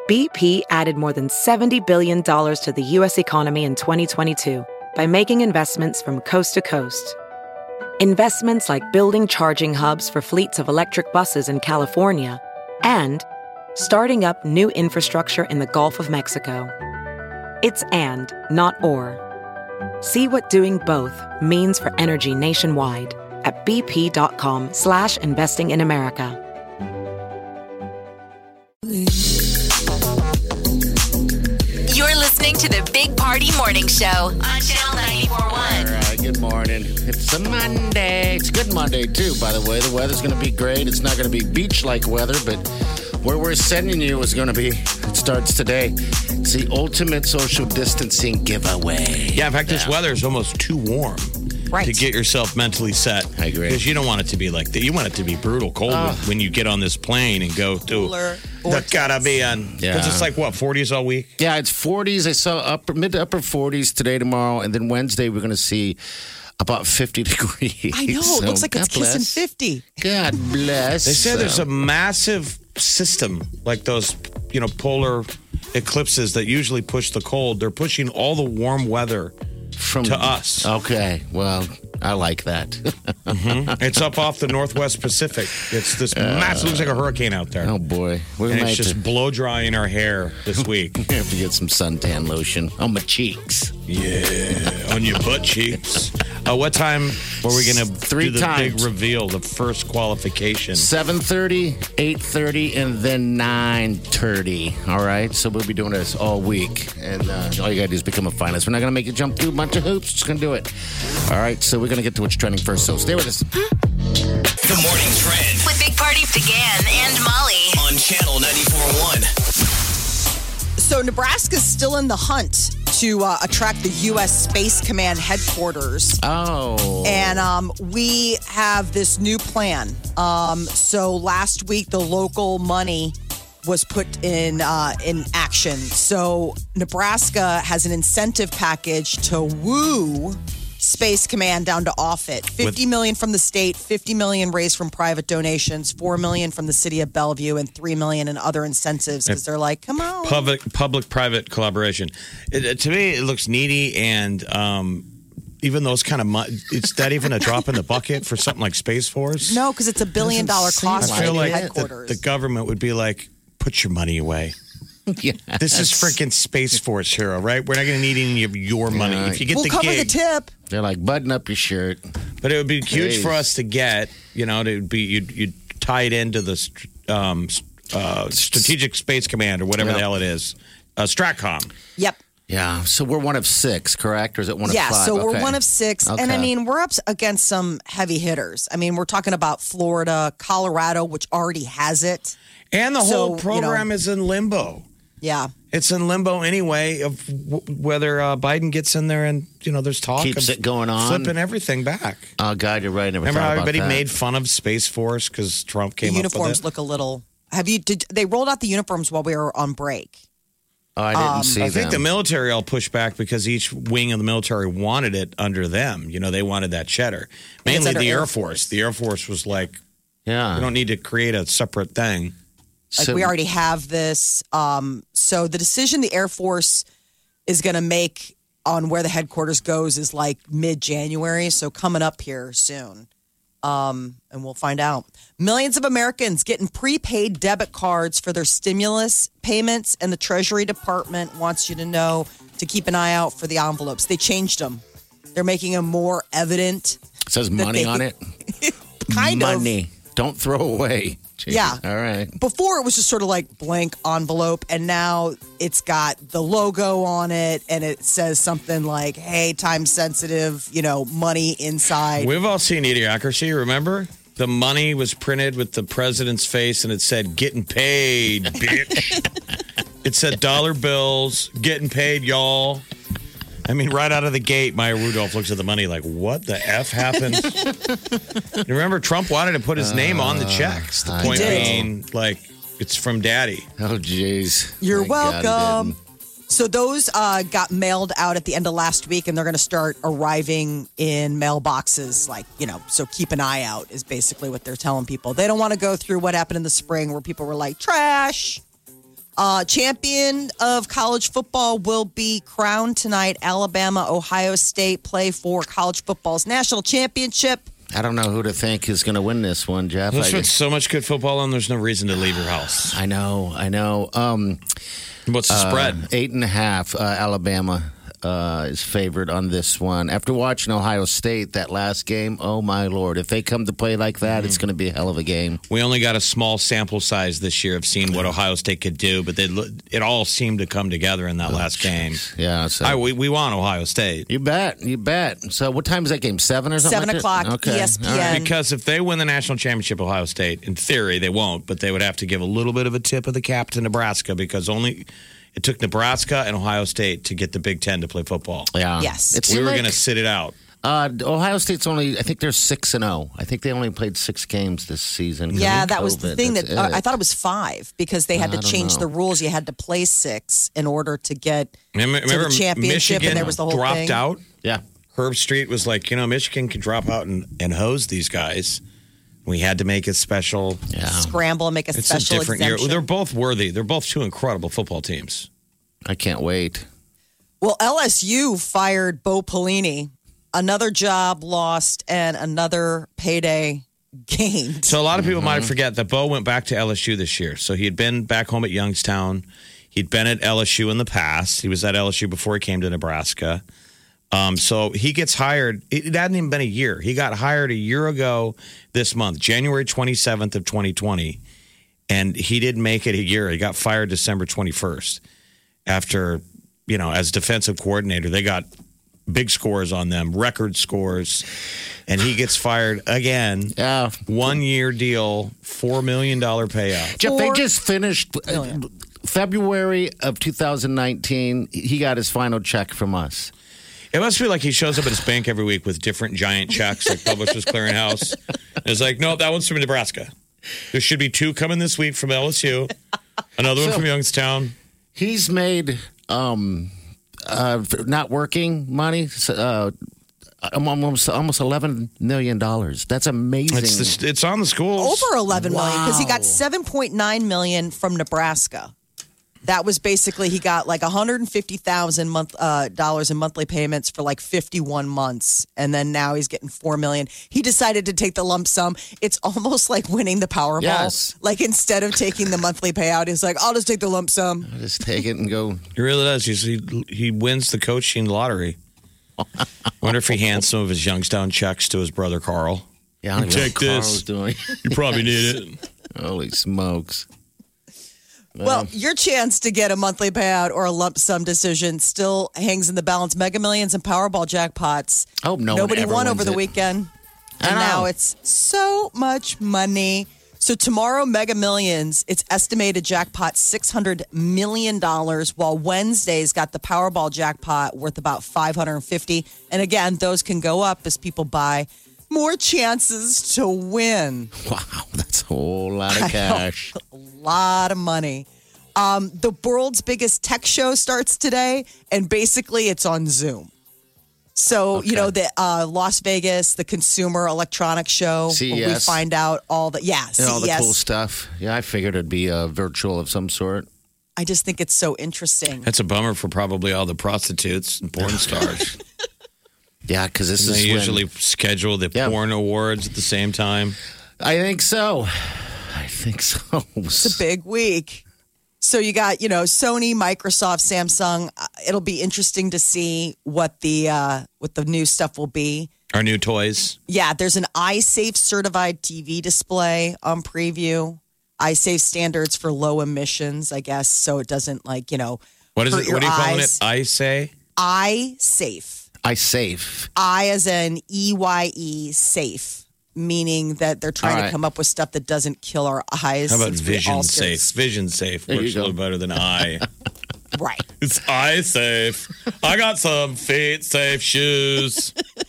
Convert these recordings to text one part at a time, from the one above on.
BP added more than $70 billion to the U.S. economy in 2022 by making investments from coast to coast. Investments like building charging hubs for fleets of electric buses in California and starting up new infrastructure in the Gulf of Mexico. It's and, not or. See what doing both means for energy nationwide at bp.com/investing in America. You're listening to the Big Party Morning Show on Channel 94.1. All right, good morning. It's a Monday. It's a good Monday, too, by the way. The weather's going to be great. It's not going to be beach-like weather, but where we're sending you is going to be, it starts today. It's the ultimate social distancing giveaway. Yeah, in fact, this weather is almost too warm to get yourself mentally set. I agree. Because you don't want it to be like that. You want it to be brutal cold when you get on this plane and go to the Caribbean. Because it's like, what, 40s all week? Yeah, it's 40s. I saw mid to upper 40s today, tomorrow, and then Wednesday we're going to see about 50 degrees. I know. It looks like it's kissing 50. God bless. They say there's a massive system like those, polar eclipses that usually push the cold. They're pushing all the warm weather to us. Okay. Well, I like that. It's up off the Northwest Pacific. It's this massive, looks like a hurricane out there. Oh, boy. It's just blow drying our hair this week. I have to get some suntan lotion on my cheeks. Yeah, on your butt cheeks. What time were we going to do the big reveal, the first qualification? 7:30, 8:30, and then 9:30. All right? So we'll be doing this all week. And all you got to do is become a finalist. We're not going to make you jump through a bunch of hoops. Just going to do it. All right? So we're going to get to what's trending first. So stay with us. The Morning Trend With Big Party began and Molly on Channel 94.1. So Nebraska's still in the hunt to attract the U.S. Space Command headquarters. Oh. And we have this new plan. So last week, the local money was put in action. So Nebraska has an incentive package to woo Space Command down to Offutt. $50 million from the state, $50 million raised from private donations, $4 million from the city of Bellevue, and $3 million in other incentives because they're like, come on. Public-private collaboration. To me, it looks needy, and even those kind of is that even a drop in the bucket for something like Space Force? No, because it's $1 billion cost. I feel like headquarters. the government would be like, put your money away. Yes. This is freaking Space Force here, all right? We're not going to need any of your money. If you get we'll the cover gig, the tip. They're like, button up your shirt. But it would be huge for us to get, you'd tie it into the Strategic Space Command or whatever the hell it is. STRATCOM. Yep. Yeah. So we're one of 6, correct? Or is it one of 5? Yeah, so we're Okay. one of 6. Okay. And I mean, we're up against some heavy hitters. I mean, we're talking about Florida, Colorado, which already has it. And the whole program is in limbo. Yeah. It's in limbo anyway of whether Biden gets in there and, there's talk Keeps of it going on. flipping everything back. Oh, God, you're right. Never Remember thought how about everybody that. made fun of Space Force because Trump came The up with it? uniforms look a little. They rolled out the uniforms while we were on break. Oh, I didn't see I think the them. military all pushed back because each wing of the military wanted it under them. They wanted that cheddar. Mainly under the Air Air Force. The Air Force was like, Yeah. we don't need to create a separate thing. Like we already have this. So the decision the Air Force is going to make on where the headquarters goes is like mid-January. So coming up here soon. And we'll find out. Millions of Americans getting prepaid debit cards for their stimulus payments. And the Treasury Department wants you to know to keep an eye out for the envelopes. They changed them. They're making them more evident. It says money on it. Kind of. Money. Don't throw away. Jeez. Yeah. All right. Before it was just sort of like blank envelope, and now it's got the logo on it, and it says something like, hey, time sensitive, money inside. We've all seen Idiocracy, remember? The money was printed with the president's face, and it said, getting paid, bitch. It said dollar bills, getting paid, y'all. I mean, right out of the gate, Maya Rudolph looks at the money like, what the F happened? You remember, Trump wanted to put his name on the checks. The point being, like, it's from daddy. Oh, jeez. You're Thank God he welcome. didn't. So those got mailed out at the end of last week, and they're going to start arriving in mailboxes. So keep an eye out is basically what they're telling people. They don't want to go through what happened in the spring where people were like, trash. Champion of college football will be crowned tonight. Alabama, Ohio State play for college football's national championship. I don't know who to think is going to win this one, Jeff. There's been so much good football on, there's no reason to leave your house. I know. What's the spread? 8.5. Alabama is favored on this one. After watching Ohio State that last game, oh my Lord. If they come to play like that, it's going to be a hell of a game. We only got a small sample size this year of seeing what Ohio State could do, but it all seemed to come together in that last game. Yeah. So. We want Ohio State. You bet. So what time is that game? 7 or something? 7 o'clock, Okay. ESPN. All right. Because if they win the national championship, Ohio State, in theory, they won't, but they would have to give a little bit of a tip of the cap to Nebraska because it took Nebraska and Ohio State to get the Big Ten to play football. Yeah. Yes. It We seemed were like, going to sit it out. Ohio State's only, I think they're 6-0. I think they only played 6 games this season. Yeah, Because that of was the COVID. thing That's that it. I thought it was 5 because they had to I don't change know. the rules. You had to play 6 in order to get Remember to the championship, Michigan and there was the whole dropped thing. out? Yeah. Herb Street was like, Michigan could drop out and hose these guys. We had to make it special. Yeah. scramble and make a It's a special different exemption. year. They're both worthy. They're both two incredible football teams. I can't wait. Well, LSU fired Bo Pelini. Another job lost and another payday gained. So a lot of people might forget that Bo went back to LSU this year. So he had been back home at Youngstown. He'd been at LSU in the past. He was at LSU before he came to Nebraska. So he gets hired. It hadn't even been a year. He got hired a year ago this month, January 27th of 2020. And he didn't make it a year. He got fired December 21st after, as defensive coordinator, they got big scores on them, record scores. And he gets fired again. Yeah. 1 year deal, $4 million payout. Jeff, they $4 just finished February of 2019. He got his final check from us. It must be like he shows up at his bank every week with different giant checks, like Publishers Clearinghouse. And it's like, no, that one's from Nebraska. There should be 2 coming this week from LSU, another one from Youngstown. He's made not working money almost $11 million. That's amazing. It's on the schools. Over 11 million because he got Wow. 7.9 million from Nebraska. That was basically he got like $150,000 dollars in monthly payments for like 51 months, and then now he's getting $4 million. He decided to take the lump sum. It's almost like winning the Powerball. Yes. Like instead of taking the monthly payout, he's like, I'll just take the lump sum. Just take it and go. He really does. He wins the coaching lottery. Wonder if he hands some of his Youngstown checks to his brother Carl. Yeah, I don't even know Take what Carl's this. doing. You probably need it. Holy smokes. Well, your chance to get a monthly payout or a lump sum decision still hangs in the balance. Mega Millions and Powerball jackpots. I hope no one Nobody ever won wins over the it. weekend. I And know. now it's so much money. So tomorrow, Mega Millions, its estimated jackpot $600 million, while Wednesday's got the Powerball jackpot worth about $550. And again, those can go up as people buy more chances to win. Wow, that's a whole lot of cash. A lot of money. The world's biggest tech show starts today, and basically it's on Zoom. So, Okay. the Las Vegas, the Consumer Electronics Show, where we CES. find out all the, And all the CES. cool stuff. Yeah, I figured it'd be virtual of some sort. I just think it's so interesting. That's a bummer for probably all the prostitutes and porn stars. Yeah, because this They is when- usually schedule the Yeah. porn awards at the same time. I think so. It's a big week. So you got, Sony, Microsoft, Samsung. It'll be interesting to see what the new stuff will be. Our new toys. Yeah, there's an iSafe certified TV display on preview. iSafe standards for low emissions, I guess, so it doesn't What is hurt it? your What are you calling eyes. it? I say? iSafe. iSafe. I as in EYE safe, meaning that they're trying All to right. come up with stuff that doesn't kill our eyes. How about since we all Vision get- Safe? Vision Safe There you works a go. little better than I. Right. It's eye safe. I got some feet safe shoes.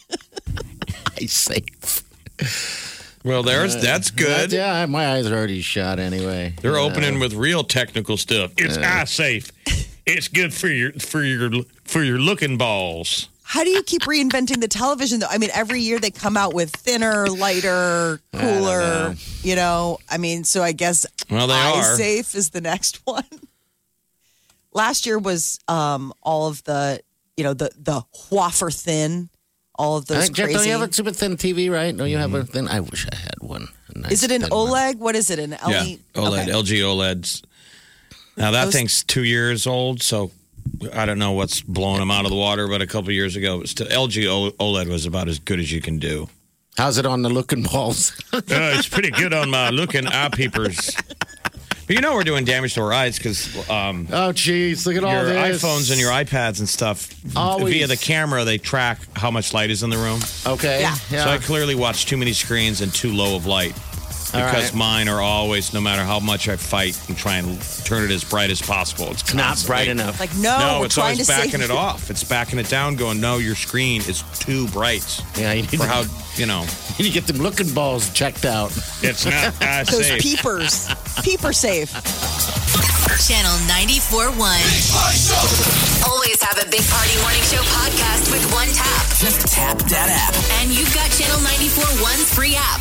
iSafe. Well, that's good. Yeah, my eyes are already shot anyway. They're opening with real technical stuff. It's eye safe. It's good for your looking balls. How do you keep reinventing the television, though? I mean, every year they come out with thinner, lighter, cooler, so I guess Well, they are. iSafe is the next one. last year was all of the, the wafer thin, all of those Jeff, crazy. don't you have a super thin TV, right? No, you have a thin. I wish I had one. A nice Is it an thin one. OLED? What is it? An LED? Yeah, OLED, Okay. LG OLEDs. Now that thing's 2 years old, so I don't know what's blowing them out of the water. But a couple years ago, it was still, LG OLED was about as good as you can do. How's it on the looking balls? It's pretty good on my looking eye peepers. But we're doing damage to our eyes because Oh, jeez, look at all your this. iPhones and your iPads and stuff, Always. via the camera, they track how much light is in the room. Okay. Yeah. So I clearly watch too many screens and too low of light. All Because right. mine are always, no matter how much I fight and try and turn it as bright as possible, it's Not constantly- bright enough. Like, no, No, we're it's trying always to backing save it off. It's backing it down, going, no, your screen is too bright Yeah, you need, for to, how, you need to get them looking balls checked out. it's not as those safe. peepers. Peeper safe. Channel 94.1. Always have a Big Party Morning Show podcast with one tap. Just tap that app. And you've got Channel 94.1's free app.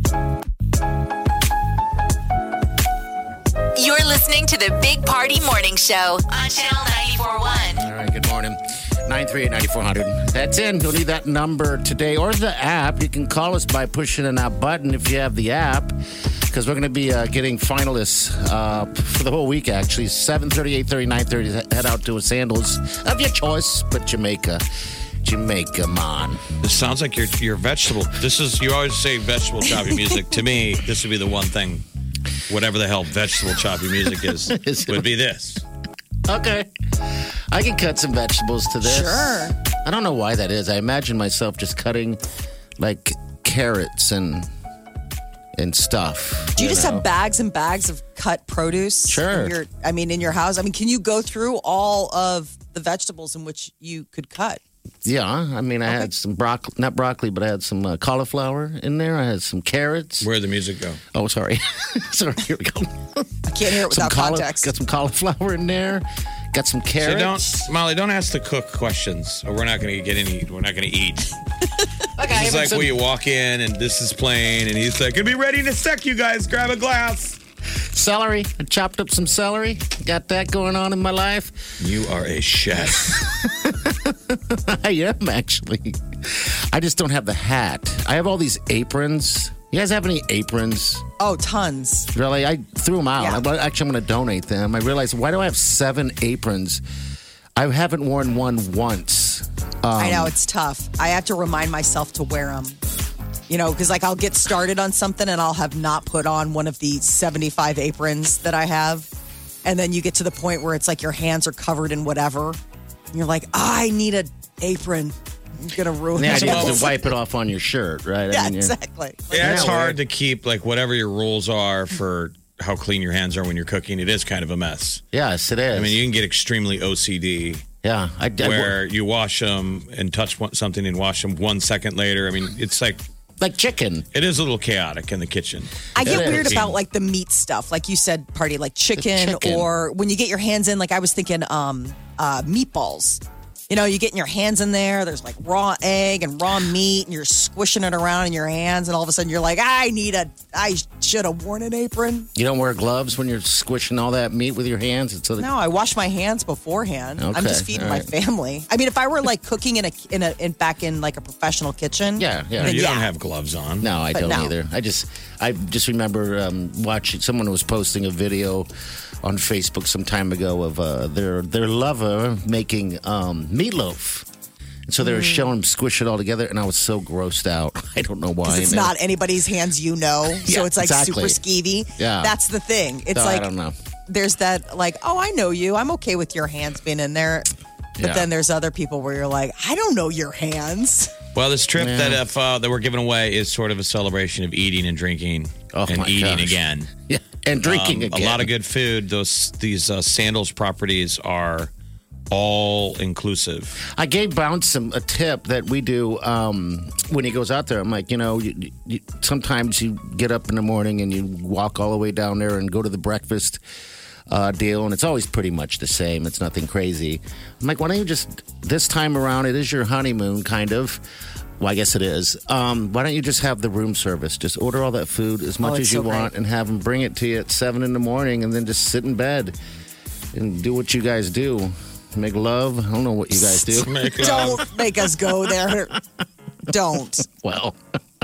You're listening to the Big Party Morning Show on Channel 94.1. All right, good morning. 938-9400. That's in. You'll need that number today or the app. You can call us by pushing in that button if you have the app, because we're going to be getting finalists for the whole week, actually. 7:30, 8:30, 9:30. Head out to a Sandals of your choice, but Jamaica, man. This sounds like your vegetable. You always say vegetable choppy music. To me, this would be the one thing, whatever the hell vegetable choppy music is, would be this. Okay. I can cut some vegetables to this. Sure. I don't know why that is. I imagine myself just cutting like carrots and stuff. Do you just know? have bags and bags of cut produce? Sure. In your house? Can you go through all of the vegetables in which you could cut? Yeah, I had some broccoli, not broccoli, but I had some cauliflower in there. I had some carrots. Where'd the music go? Oh, sorry. Sorry, here we go. I can't hear it without context. Got some cauliflower in there. Got some So carrots. Molly, don't ask the cook questions, or we're not going to get any. We're not going to eat. Okay, It's like where you walk in and this is plain, and he's like, "It'll be ready in a sec, you guys. Grab a glass." celery. I chopped up some celery. Got that going on in my life. You are a chef. I am, actually. I just don't have the hat. I have all these aprons. You guys have any aprons? Oh, tons. Really? I threw them out. Yeah. Actually, I'm going to donate them. I realized, why do I have 7 aprons? I haven't worn one once. I know, it's tough. I have to remind myself to wear them. Because I'll get started on something and I'll have not put on one of the 75 aprons that I have. And then you get to the point where it's like your hands are covered in whatever. And you're like, I need an apron. I'm going to ruin The it. idea is to wipe it off on your shirt, right? Yeah, exactly. Yeah, it's Yeah, hard weird. to keep like whatever your rules are for how clean your hands are when you're cooking. It is kind of a mess. Yes, it is. I mean, you can get extremely OCD yeah, where you wash them and touch something and wash them 1 second later. I mean, it's like like chicken. it is a little chaotic in the kitchen. I get It weird is. about like the meat stuff, like you said, Party, like chicken, chicken. or when you get your hands in. Like I was thinking, meatballs. You get your hands in there. There's like raw egg and raw meat, and you're squishing it around in your hands, and all of a sudden you're like, I should have worn an apron. You don't wear gloves when you're squishing all that meat with your hands. It's No, I wash my hands beforehand. I'm Okay, just feeding all my right. family. I mean, if I were like cooking back in like a professional kitchen, Yeah. You Yeah. don't have gloves on. No, I But don't no. either. I just remember watching. Someone was posting a video on Facebook some time ago of their lover making meatloaf. And so they were showing them squish it all together, and I was so grossed out. I don't know why. because it's And not anybody's hands, so Yeah, it's like exactly. super skeevy. Yeah. That's the thing. It's No, like I don't know. there's that like, oh, I know you. I'm okay with your hands being in there. But Yeah. then there's other people where you're like, I don't know your hands. Well, this trip Yeah. that we're giving away is sort of a celebration of eating and drinking Oh, and my eating gosh. again. Yeah, and drinking again. A lot of good food. These Sandals properties are all inclusive. I gave Bounce a tip that we do when he goes out there. I'm like, sometimes you get up in the morning and you walk all the way down there and go to the breakfast deal, and it's always pretty much the same. It's nothing crazy. I'm like, why don't you just, this time around, it is your honeymoon, kind of. Well, I guess it is. Why don't you just have the room service? Just order all that food as much it's as you so want great. and have them bring it to you at 7 in the morning and then just sit in bed. and do what you guys do. Make love. I don't know what you guys do. Make love. Don't make us go there. Don't. Well,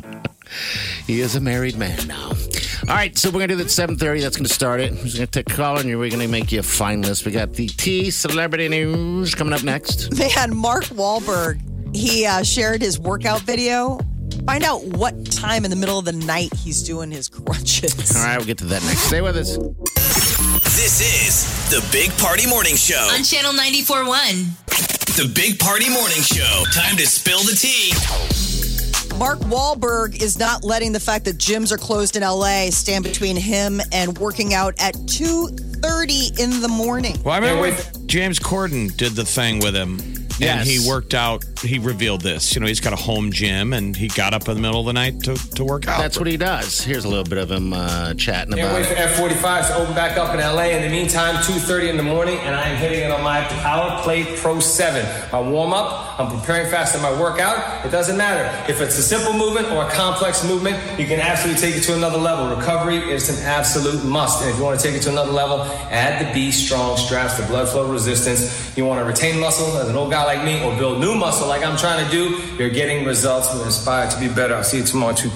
he is a married man now. All right, so we're going to do that 7:30. That's going to start it. We're going to take a call, and we're going to make you a fine list. We got the T Celebrity News coming up next. Man, Mark Wahlberg, he shared his workout video. Find out what time in the middle of the night he's doing his crunches. All right, we'll get to that next. Stay with us. This is the Big Party Morning Show. On Channel 94.1. The Big Party Morning Show. Time to spill the tea. Mark Wahlberg is not letting the fact that gyms are closed in LA stand between him and working out at 2:30 in the morning. Well, I remember when James Corden did the thing with him. Yes. And he worked out. He revealed this. You know, he's got a home gym, and he got up in the middle of the night to work out. That's what he does. Here's a little bit of him chatting Can't about wait for it. F45s to open back up in LA. In the meantime, 2:30 in the morning, and I am hitting it on my Power Plate Pro 7. My warm up, I'm preparing fast in my workout. It doesn't matter if it's a simple movement or a complex movement. You can absolutely take it to another level. Recovery is an absolute must, and if you want to take it to another level, add the Be Strong straps, the blood flow resistance. You want to retain muscle as an old guy like me, or build new muscle like I'm trying to do. You're getting results. We're inspired to be better. I'll see you tomorrow at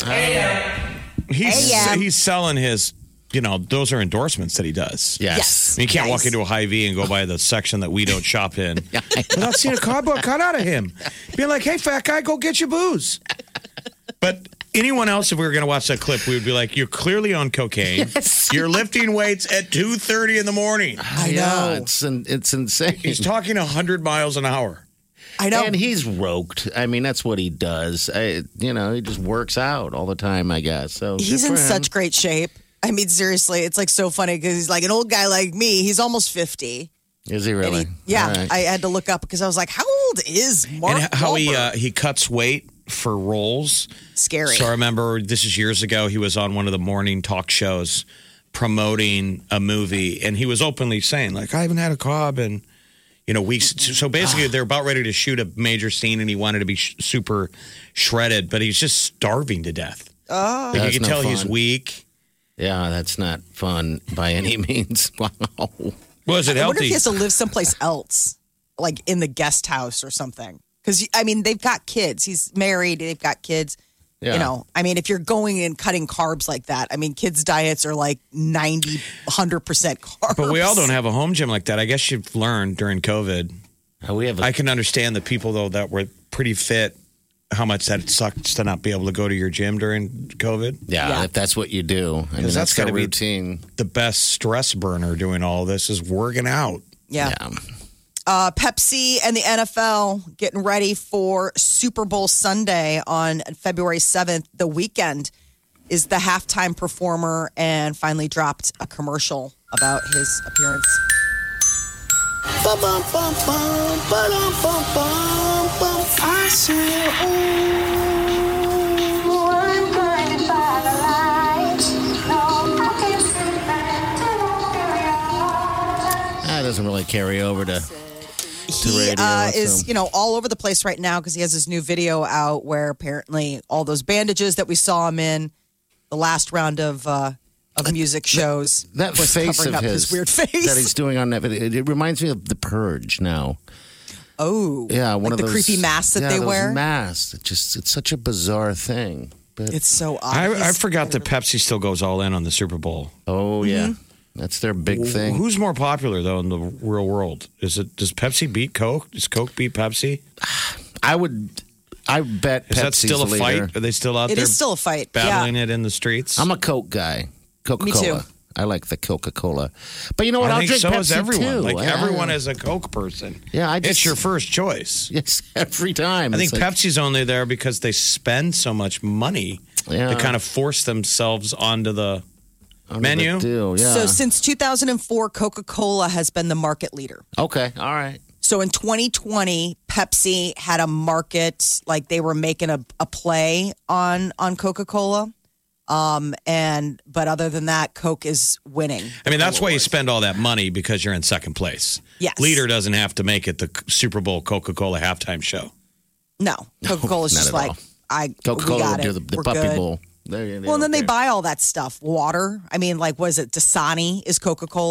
2:30. He's selling his, you know, those are endorsements that he does. Yes. You can't walk Nice. into a Hy-Vee and go by the section that we don't shop in without seeing a cardboard cut out of him. Being like, hey, fat guy, go get your booze. But anyone else, if we were going to watch that clip, we would be like, you're clearly on cocaine. Yes. You're lifting weights at 2:30 in the morning. I Yeah, know. it's insane. He's talking 100 miles an hour. I know. And he's roped. I mean, that's what he does. You know, he just works out all the time, I guess. So He's good in for him. such great shape. I mean, seriously, it's like so funny because he's like an old guy like me. He's almost 50. Is he And really? yeah, All right. I had to look up because I was like, how old is Mark And how Wahlberg? he cuts weight for roles. Scary. So I remember this is years ago. He was on one of the morning talk shows promoting a movie, and he was openly saying, like, I haven't had a carb in, you know, weeks. So basically, they're about ready to shoot a major scene, and he wanted to be super shredded, but he's just starving to death. Oh, like, That's you can no tell he's fun. weak. Yeah, that's not fun by any means. Wow. Well, is it I wonder if healthy? he has to live someplace else, like in the guest house or something. Because, I mean, they've got kids. He's married. They've got kids. Yeah. You know, I mean, if you're going and cutting carbs like that, I mean, kids' diets are like 90, 100% carbs. But we all don't have a home gym like that. I guess you've learned during COVID. We have I can understand the people, though, that were pretty fit, how much that sucks to not be able to go to your gym during COVID. yeah, if that's what you do. I mean, Because that's gotta the be routine. the best stress burner doing all this is working out. Yeah. Pepsi and the NFL getting ready for Super Bowl Sunday on February 7th. The Weeknd is the halftime performer and finally dropped a commercial about his appearance. I say, oh, I'm blinded by the lights. No, I can't sleep until That doesn't really carry over to He radio, is, so- you know, all over the place right now because he has his new video out where apparently all those bandages that we saw him in the last round of music shows that was face covering of up his weird face. that he's doing on that video. It reminds me of The Purge now. Oh, Yeah, one like of the those creepy masks that they those wear. Masks. It's such a bizarre thing. But It's so odd. I He's- forgot that Pepsi still goes all in on the Super Bowl. oh yeah, that's their big thing. Who's more popular though in the real world? Does Pepsi beat Coke? Does Coke beat Pepsi? I bet Is that Pepsi's still a the leader. fight? Are they still out It there is still a fight. battling Yeah. it in the streets? I'm a Coke guy. Coca-Cola. Me too. I like the Coca-Cola. But you know what? I I'll think drink so Pepsi is everyone. too. Like I- everyone is a Coke person. Yeah, it's your first choice. Yes, every time. I think It's like- Pepsi's only there because they spend so much money. Yeah. They kind of force themselves onto the under menu. the deal, yeah. So since 2004, Coca-Cola has been the market leader. okay, all right. So in 2020, Pepsi had a market, like they were making a play on Coca-Cola. But other than that, Coke is winning. I mean, that's why you spend all that money because you're in second place. Yes. Leader doesn't have to make it the Super Bowl Coca-Cola halftime show. No, Coca-Cola's not just at like, all. we Coca-Cola got will it. do the We're puppy good. bowl. Well, and then they buy all that stuff. Water. I mean, like, was it Dasani is Coca-Cola?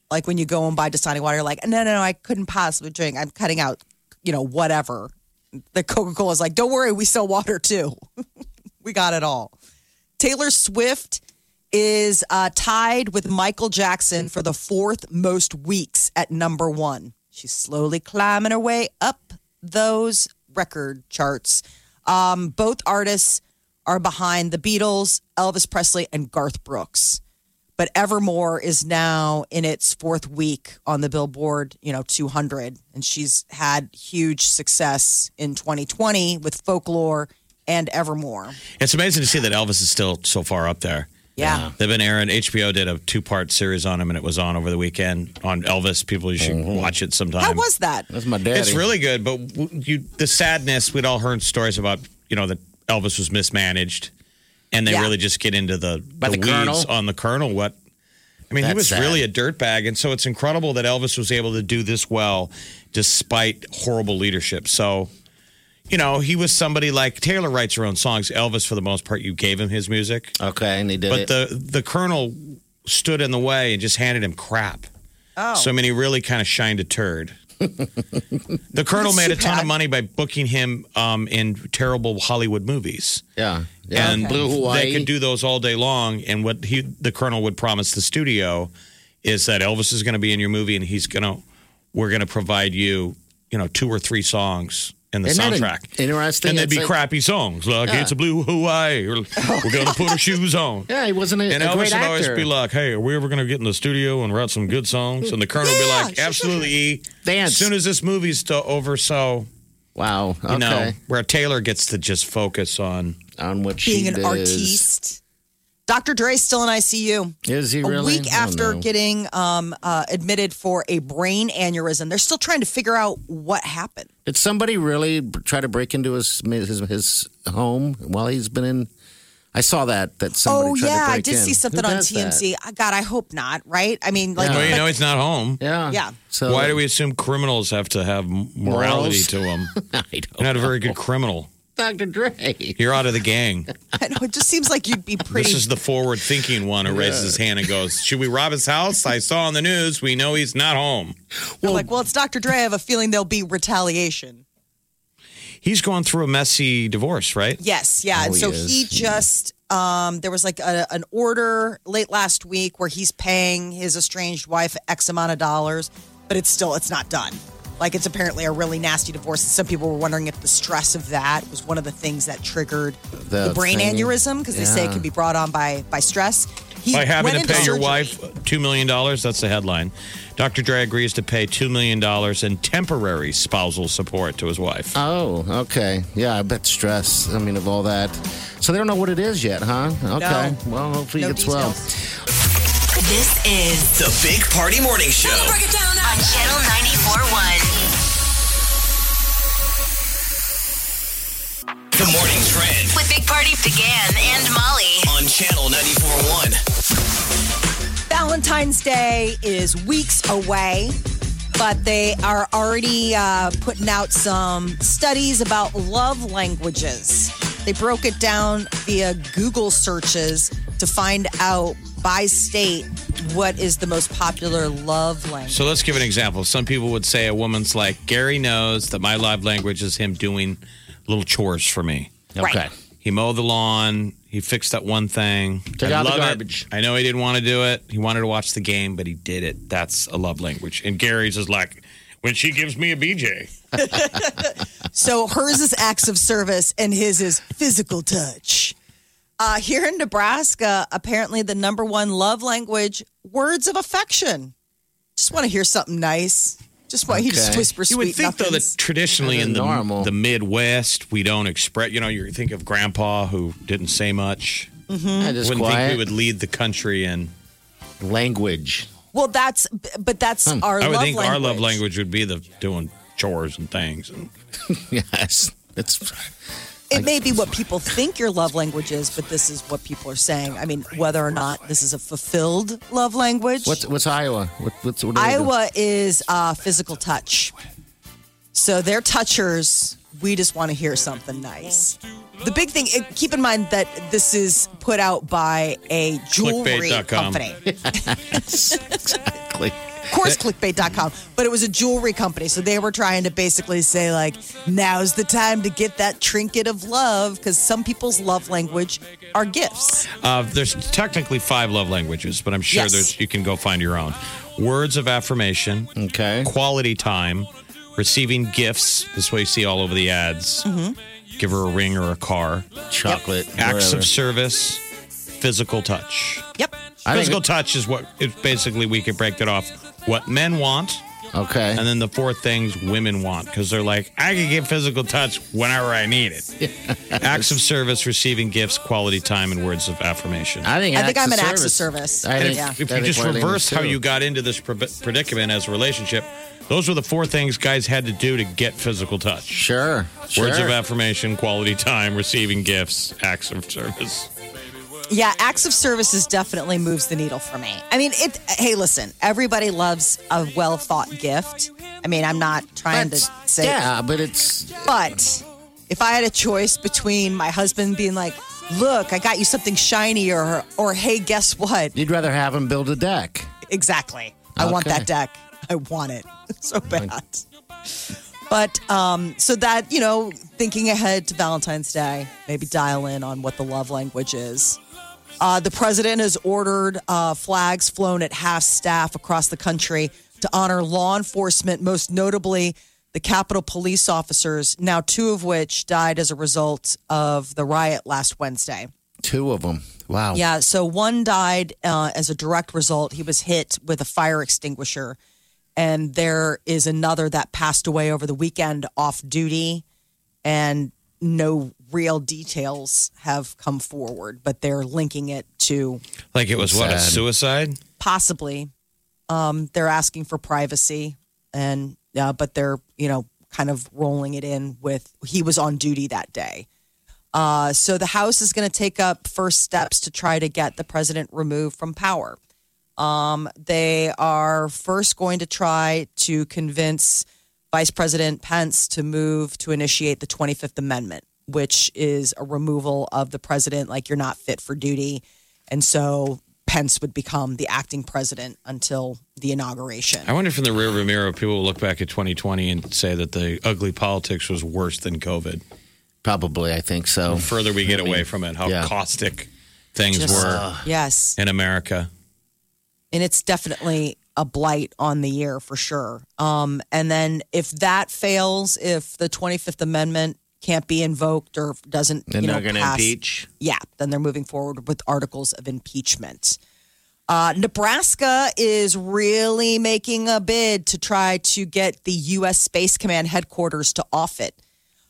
Like when you go and buy Dasani water, you're like, no, I couldn't possibly drink. I'm cutting out, whatever. The Coca-Cola is like, don't worry, we sell water too. We got it all. Taylor Swift is tied with Michael Jackson for the 4th most weeks at number 1. She's slowly climbing her way up those record charts. Both artists are behind the Beatles, Elvis Presley, and Garth Brooks. But Evermore is now in its 4th week on the Billboard, 200. And she's had huge success in 2020 with Folklore and Evermore. It's amazing to see that Elvis is still so far up there. Yeah. They've been airing, HBO did a 2-part series on him, and it was on over the weekend on Elvis. People, you should watch it sometime. How was that? That's my daddy. It's really good, but the sadness, we'd all heard stories about, that Elvis was mismanaged, and they really just get into the weeds Colonel? on the Colonel. He That's was sad. really a dirtbag, and so it's incredible that Elvis was able to do this well despite horrible leadership. So, he was somebody like Taylor writes her own songs. Elvis, for the most part, you gave him his music. Okay, and he did But it. the Colonel stood in the way and just handed him crap. Oh. So, he really kind of shined a turd. The Colonel made a ton of money by booking him in terrible Hollywood movies. Yeah. And Blue Hawaii. they could do those all day long. And what the Colonel would promise the studio is that Elvis is going to be in your movie and we're going to provide you, 2 or 3 songs in the Isn't that soundtrack. interesting? And they'd It's be like- crappy songs like It's a Blue Hawaii or We're going to put our shoes on. Yeah, he wasn't a And great Elvis would always actor. be like, hey, are we ever going to get in the studio and write some good songs? And the Colonel would be like, absolutely, E. Dance. As soon as this movie's over, so, Wow. Okay. where Taylor gets to just focus on. On what Being she an does. artiste. Dr. Dre's still in ICU. Is he A really? week Oh, after no. getting admitted for a brain aneurysm. They're still trying to figure out what happened. Did somebody really try to break into his home while he's been in? I saw that somebody tried to break I did in. see something Who on does that? TMZ. God, I hope not, right? I mean, like, Well, but- he's not home. Yeah. Yeah. So Why do we assume criminals have to have morality Morals? to them? I You're don't not a very know. good criminal. Dr. Dre. You're out of the gang. I know, it just seems like you'd be pretty. This is the forward-thinking one who raises his hand and goes, should we rob his house? I saw on the news. We know he's not home. You're like, well, it's Dr. Dre. I have a feeling there'll be retaliation. He's going through a messy divorce, right? Yes, yeah. Oh, And so he is. he just, there was like an order late last week where he's paying his estranged wife X amount of dollars, but it's not done. Like, it's apparently a really nasty divorce. Some people were wondering if the stress of that was one of the things that triggered the brain thing. aneurysm, because they say it Yeah. can be brought on by stress. He By having went to into pay your surgery. wife $2 million, that's the headline. Dr. Dre agrees to pay $2 million in temporary spousal support to his wife. Oh, okay. Yeah, I bet stress. I mean, of all that. So they don't know what it is yet, huh? Okay. No. Well, hopefully No he gets well. details. This is The Big Party Morning Show. Break it down on Channel 94.1 The Morning Trend with Big Party began and Molly. on Channel 94.1. Valentine's Day is weeks away, but they are already putting out some studies about love languages. They broke it down via Google searches to find out by state what is the most popular love language. So let's give an example. Some people would say a woman's like, Gary knows that my love language is him doing little chores for me. Okay. He mowed the lawn. He fixed that one thing. Took out the love it. garbage. I know he didn't want to do it. He wanted to watch the game, but he did it. That's a love language. And Gary's is like, when she gives me a BJ. So hers is acts of service and his is physical touch. Here in Nebraska, apparently the number one love language, words of affection. Just want to hear something nice. Just want you to Okay. whisper You sweet would think, though, that nothings. traditionally That's in normal. the Midwest, we don't express, you think of Grandpa who didn't say much. I just Wouldn't think quiet we would lead the country in. language. Well, that's our I would love think language. our love language would be the doing chores and things. And Yes. It's It may be what people think your love language is, but this is what people are saying. I mean, whether or not this is a fulfilled love language. what's Iowa? What do they do? Iowa is physical touch. So they're touchers. We just want to hear something nice. The big thing, keep in mind that this is put out by a jewelry Clickbait.com. company. Exactly. Of course, clickbait.com. But it was a jewelry company. So they were trying to basically say, like, now's the time to get that trinket of love because some people's love language are gifts. There's technically 5 love languages, but I'm sure Yes. you can go find your own. Words of affirmation. Okay. Quality time. Receiving gifts. This is what you see all over the ads. Mm-hmm. Give her a ring or a car. Chocolate. Acts whatever. of service. Physical touch. Yep. I think Physical touch is what, it's basically, we could break that off. What men want. Okay. And then the 4 things women want, because they're like, I can get physical touch whenever I need it. Acts of service, receiving gifts, quality time, and words of affirmation. I think I'm an acts of service. I And think, Yeah. if you I think just Marlene is reverse how too. you got into this predicament as a relationship, those were the 4 things guys had to do to get physical touch. Sure. Words sure. of affirmation, quality time, receiving gifts, acts of service. Yeah, acts of services definitely moves the needle for me. I mean, hey, listen, everybody loves a well thought gift. I mean, I'm not trying to say. Yeah, but it's But if I had a choice between my husband being like, look, I got you something shiny, or hey, guess what? you'd rather have him build a deck. Exactly. I want Okay. that deck. I want it so bad. But so that, thinking ahead to Valentine's Day, maybe dial in on what the love language is. The president has ordered flags flown at half staff across the country to honor law enforcement, most notably the Capitol police officers, now 2 of which died as a result of the riot last Wednesday. 2 of them. Wow. Yeah, so one died as a direct result. He was hit with a fire extinguisher. And there is another that passed away over the weekend off duty. And no real details have come forward, but they're linking it to Like it was what, a Sad. suicide? possibly. They're asking for privacy, and but they're kind of rolling it in with he was on duty that day. So the House is going to take up first steps to try to get the president removed from power. They are first going to try to convince Vice President Pence to move to initiate the 25th Amendment, which is a removal of the president, like you're not fit for duty. And so Pence would become the acting president until the inauguration. I wonder if in the rearview mirror, people will look back at 2020 and say that the ugly politics was worse than COVID. Probably, I think so. The further we get away from it, how yeah. caustic things Just- were Yes. in America. And it's definitely a blight on the year for sure. And then if that fails, if the 25th Amendment can't be invoked or doesn't, Then they're going to pass, impeach. yeah, then they're moving forward with articles of impeachment. Nebraska is really making a bid to try to get the U.S. Space Command headquarters to off it.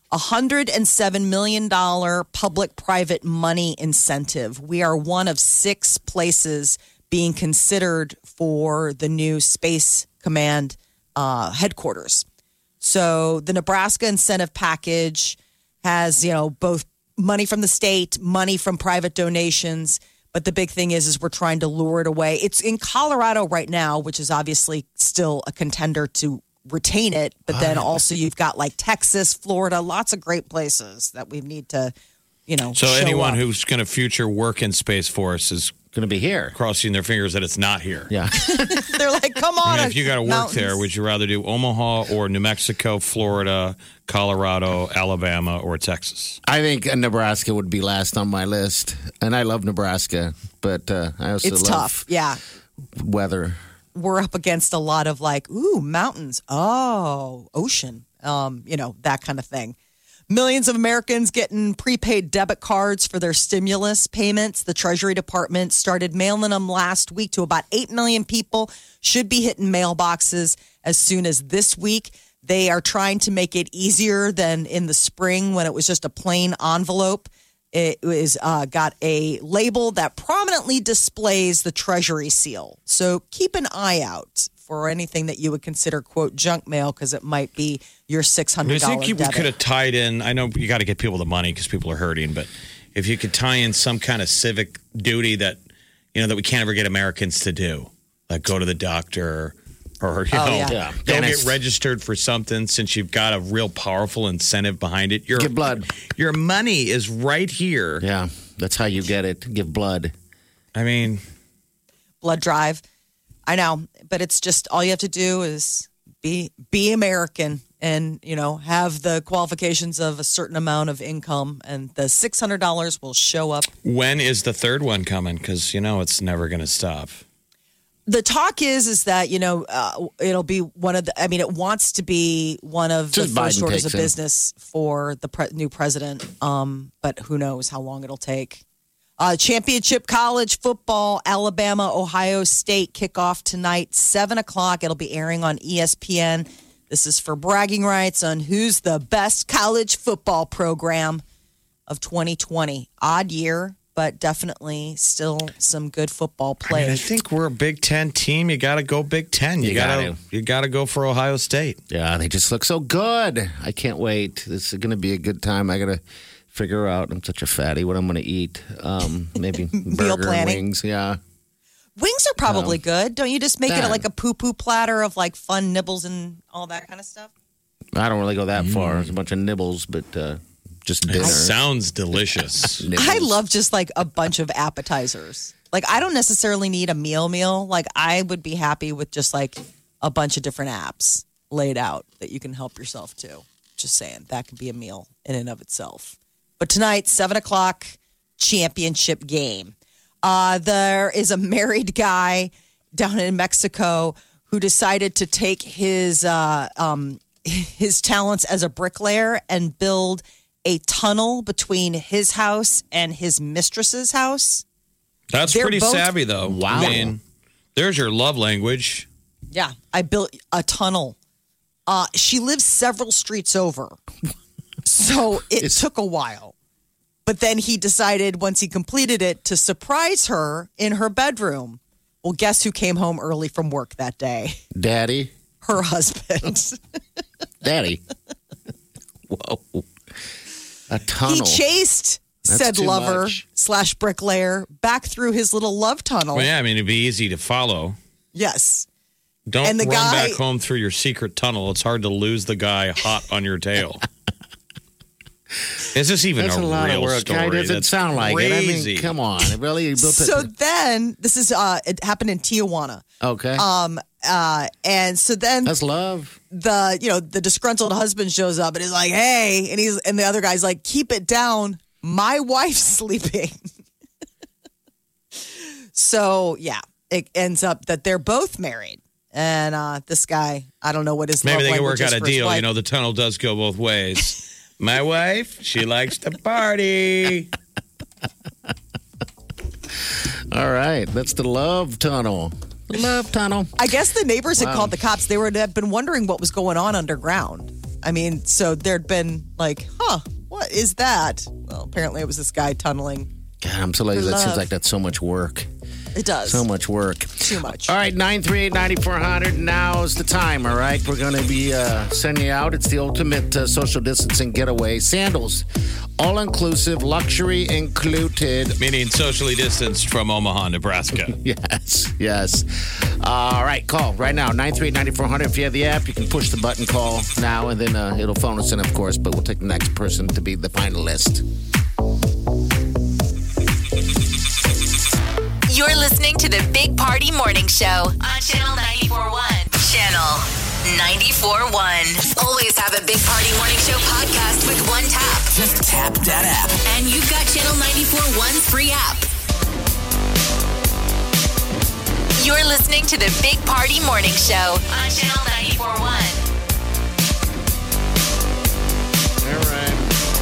$107 million public-private money incentive. We are one of 6 places being considered for the new Space Command headquarters. So the Nebraska incentive package has, both money from the state, money from private donations. But the big thing is we're trying to lure it away. It's in Colorado right now, which is obviously still a contender to retain it. But then also you've got like Texas, Florida, lots of great places that we need to, So show anyone up. who's going to future work in Space Force is Going to be here. crossing their fingers that it's not here. Yeah. They're like, come on. I mean, if you got to work mountains. there, would you rather do Omaha or New Mexico, Florida, Colorado, Alabama, or Texas? I think Nebraska would be last on my list. And I love Nebraska, but I also It's love tough. Yeah. weather. We're up against a lot of like, ooh, mountains. Oh, ocean. That kind of thing. Millions of Americans getting prepaid debit cards for their stimulus payments. The Treasury Department started mailing them last week to about 8 million people. Should be hitting mailboxes as soon as this week. They are trying to make it easier than in the spring when it was just a plain envelope. It was got a label that prominently displays the Treasury seal. So keep an eye out for anything that you would consider, quote, junk mail, because it might be your $600 I think we debit. could have tied in. I know you got to get people the money because people are hurting, but if you could tie in some kind of civic duty that that we can't ever get Americans to do, like go to the doctor or yeah. go Dentist. get registered for something, since you've got a real powerful incentive behind it. Give blood. Your money is right here. Yeah. That's how you get it. Give blood. I mean, blood drive. I know, but it's just all you have to do is be American and, have the qualifications of a certain amount of income, and the $600 will show up. When is the third one coming? Because, it's never going to stop. The talk is that, it'll be one of the, it wants to be one of the first orders of business for the new president. But who knows how long it'll take. Championship college football, Alabama, Ohio State kickoff tonight, 7:00. It'll be airing on ESPN. This is for bragging rights on who's the best college football program of 2020. Odd year, but definitely still some good football play. I think we're a Big Ten team. You got to go Big Ten. You got to go for Ohio State. Yeah, they just look so good. I can't wait. This is going to be a good time. I got to figure out. I'm such a fatty. What I'm going to eat? Maybe burger and wings. Yeah. Wings are probably good. Don't you just make it like a poo-poo platter of like fun nibbles and all that kind of stuff? I don't really go that far. There's a bunch of nibbles, but just dinner. It sounds delicious. I love just like a bunch of appetizers. Like I don't necessarily need a meal. Like I would be happy with just like a bunch of different apps laid out that you can help yourself to. Just saying, that could be a meal in and of itself. But tonight, 7:00, championship game. There is a married guy down in Mexico who decided to take his talents as a bricklayer and build a tunnel between his house and his mistress's house. That's pretty savvy, though. Wow. There's your love language. Yeah, I built a tunnel. She lives several streets over. So it took a while. But then he decided, once he completed it, to surprise her in her bedroom. Well, guess who came home early from work that day? Daddy? Her husband. Daddy? Whoa. A tunnel. He chased said lover / bricklayer back through his little love tunnel. Well, yeah, it'd be easy to follow. Yes. Don't run back home through your secret tunnel. It's hard to lose the guy hot on your tail. Is this even That's a lot real of work. story? It doesn't sound like crazy. it. Come on. It really built So then, this is it happened in Tijuana. Okay. And so then that's love. The disgruntled husband shows up and is like, "Hey," and the other guy's like, "Keep it down. My wife's sleeping." So yeah, it ends up that they're both married. And this guy, I don't know what his maybe love they can language work is out a for his deal. wife. The tunnel does go both ways. My wife, she likes to party. All right, that's the love tunnel. The love tunnel. I guess the neighbors had called the cops. They had been wondering what was going on underground. So there'd been like, what is that? Well, apparently it was this guy tunneling. God, I'm so lazy. That seems like that's so much work. It does. So much work. Too much. All right, 938-9400. Now's the time, all right? We're going to be sending you out. It's the ultimate social distancing getaway. Sandals, all-inclusive, luxury included. Meaning socially distanced from Omaha, Nebraska. Yes. All right, call right now, 938-9400. If you have the app, you can push the button, call now, and then it'll phone us in, of course, but we'll take the next person to be the finalist. You're listening to the Big Party Morning Show on Channel 94.1. Channel 94.1. Always have a Big Party Morning Show podcast with one tap. Just tap that app. And you've got Channel 94.1's free app. You're listening to the Big Party Morning Show on Channel 94.1. All right.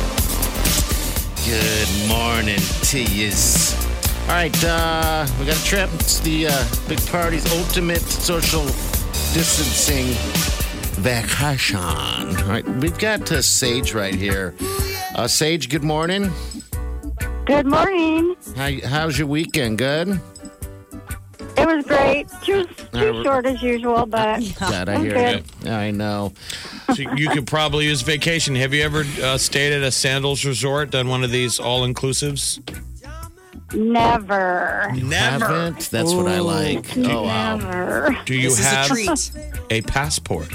Good morning to yous. All right, we got a trip. It's the Big Party's ultimate social distancing vacation. All right, we've got Sage right here. Sage, good morning. Good morning. How's your weekend? Good? It was great. Too short as usual, but God, I I'm hear good. you. I know. So you could probably use vacation. Have you ever stayed at a Sandals resort, done one of these all-inclusives? Never. Haven't? That's what I like. Oh, wow. Never. Do you This is a have treat. a passport?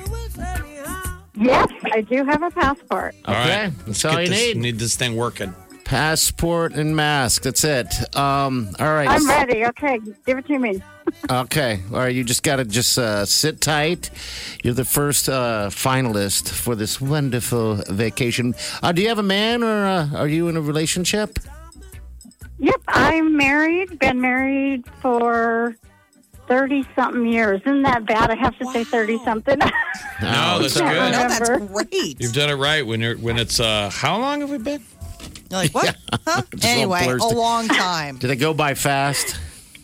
Yes, I do have a passport. Okay, All right. that's all you need. Need this thing working. Passport and mask. That's it. All right. I'm ready. Okay, give it to me. Okay. All right. You just got to sit tight. You're the first finalist for this wonderful vacation. Do you have a man or are you in a relationship? Yep, I'm married. Been married for 30-something years. Isn't that bad? I have to say 30-something. No, that's good. No, that's Remember. great. You've done it right when it's how long have we been? You're like, what? Huh? Just a little Anyway, a blurs. long time. Did it go by fast?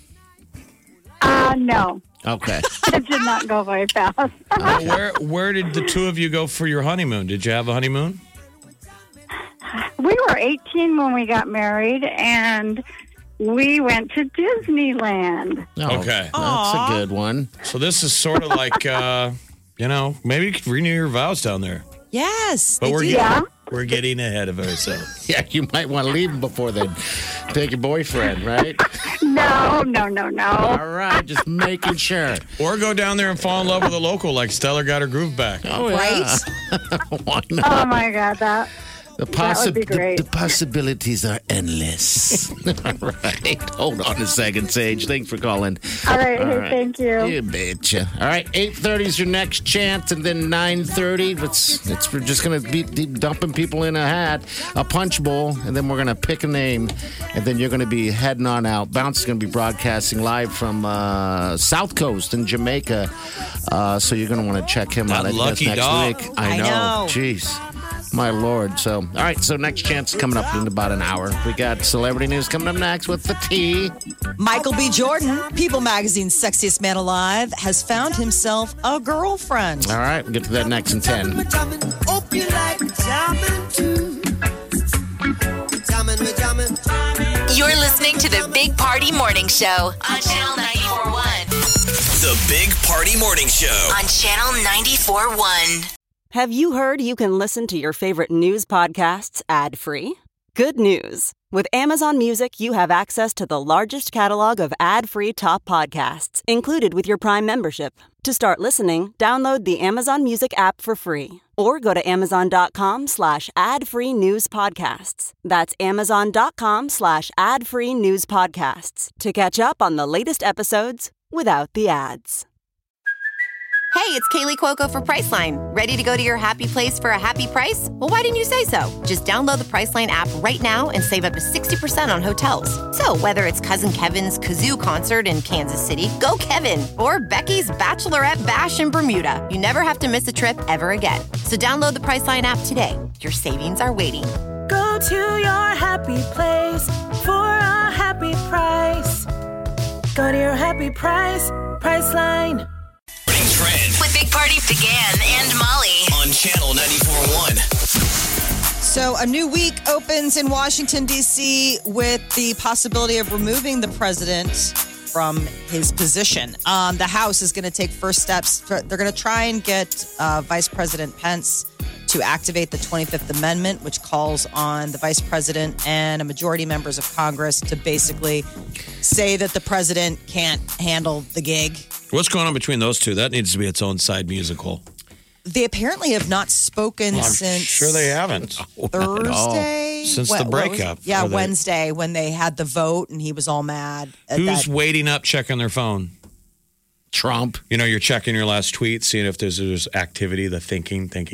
No. Okay. It did not go very fast. Where did the two of you go for your honeymoon? Did you have a honeymoon? We were 18 when we got married, and we went to Disneyland. Oh, Okay. That's a good one. So this is sort of like maybe you could renew your vows down there. Yes. But they we're do. Yeah. we're getting ahead of ourselves. Yeah, you might want to leave him before then. Take your boyfriend, right? No. All right, just making sure. Or go down there and fall in love with a local like Stellar got her groove back. Oh, yeah. Why not? Oh, my God, that would be great. The possibilities are endless. All right. Hold on a second, Sage. Thanks for calling. All right, thank you. You betcha. All right, 8:30 is your next chance, and then 9:30, we're just going to be dumping people in a hat, a punch bowl, and then we're going to pick a name, and then you're going to be heading on out. Bounce is going to be broadcasting live from South Coast in Jamaica, so you're going to want to check him out. That I think that's lucky next dog. week. I know. Jeez. My Lord. So, all right. So, next chance is coming up in about an hour. We got celebrity news coming up next with the T. Michael B. Jordan, People Magazine's sexiest man alive, has found himself a girlfriend. All right. We'll get to that next in 10. You're listening to the Big Party Morning Show on Channel 94.1. The Big Party Morning Show. On Channel 94.1. Have you heard you can listen to your favorite news podcasts ad-free? Good news. With Amazon Music, you have access to the largest catalog of ad-free top podcasts included with your Prime membership. To start listening, download the Amazon Music app for free or go to amazon.com/ad-free news podcasts. That's amazon.com/ad-free news podcasts to catch up on the latest episodes without the ads. Hey, it's Kaylee Cuoco for Priceline. Ready to go to your happy place for a happy price? Well, why didn't you say so? Just download the Priceline app right now and save up to 60% on hotels. So whether it's Cousin Kevin's Kazoo concert in Kansas City, go Kevin, or Becky's Bachelorette Bash in Bermuda, you never have to miss a trip ever again. So download the Priceline app today. Your savings are waiting. Go to your happy place for a happy price. Go to your happy price, Priceline. Trend With Big Party began and Molly. on Channel 94.1. So, a new week opens in Washington, D.C., with the possibility of removing the president from his position. The House is going to take first steps. They're going to try and get Vice President Pence to activate the 25th Amendment, which calls on the vice president and a majority members of Congress to basically say that the president can't handle the gig. What's going on between those two? That needs to be its own side musical. They apparently have not spoken I'm since sure they haven't. Thursday. Since When- the what was- breakup. Yeah, Are they- Wednesday when they had the vote and he was all mad. At Who's that. waiting up, checking their phone? Trump. You know, you're checking your last tweet, seeing if there's activity, the thinking. Then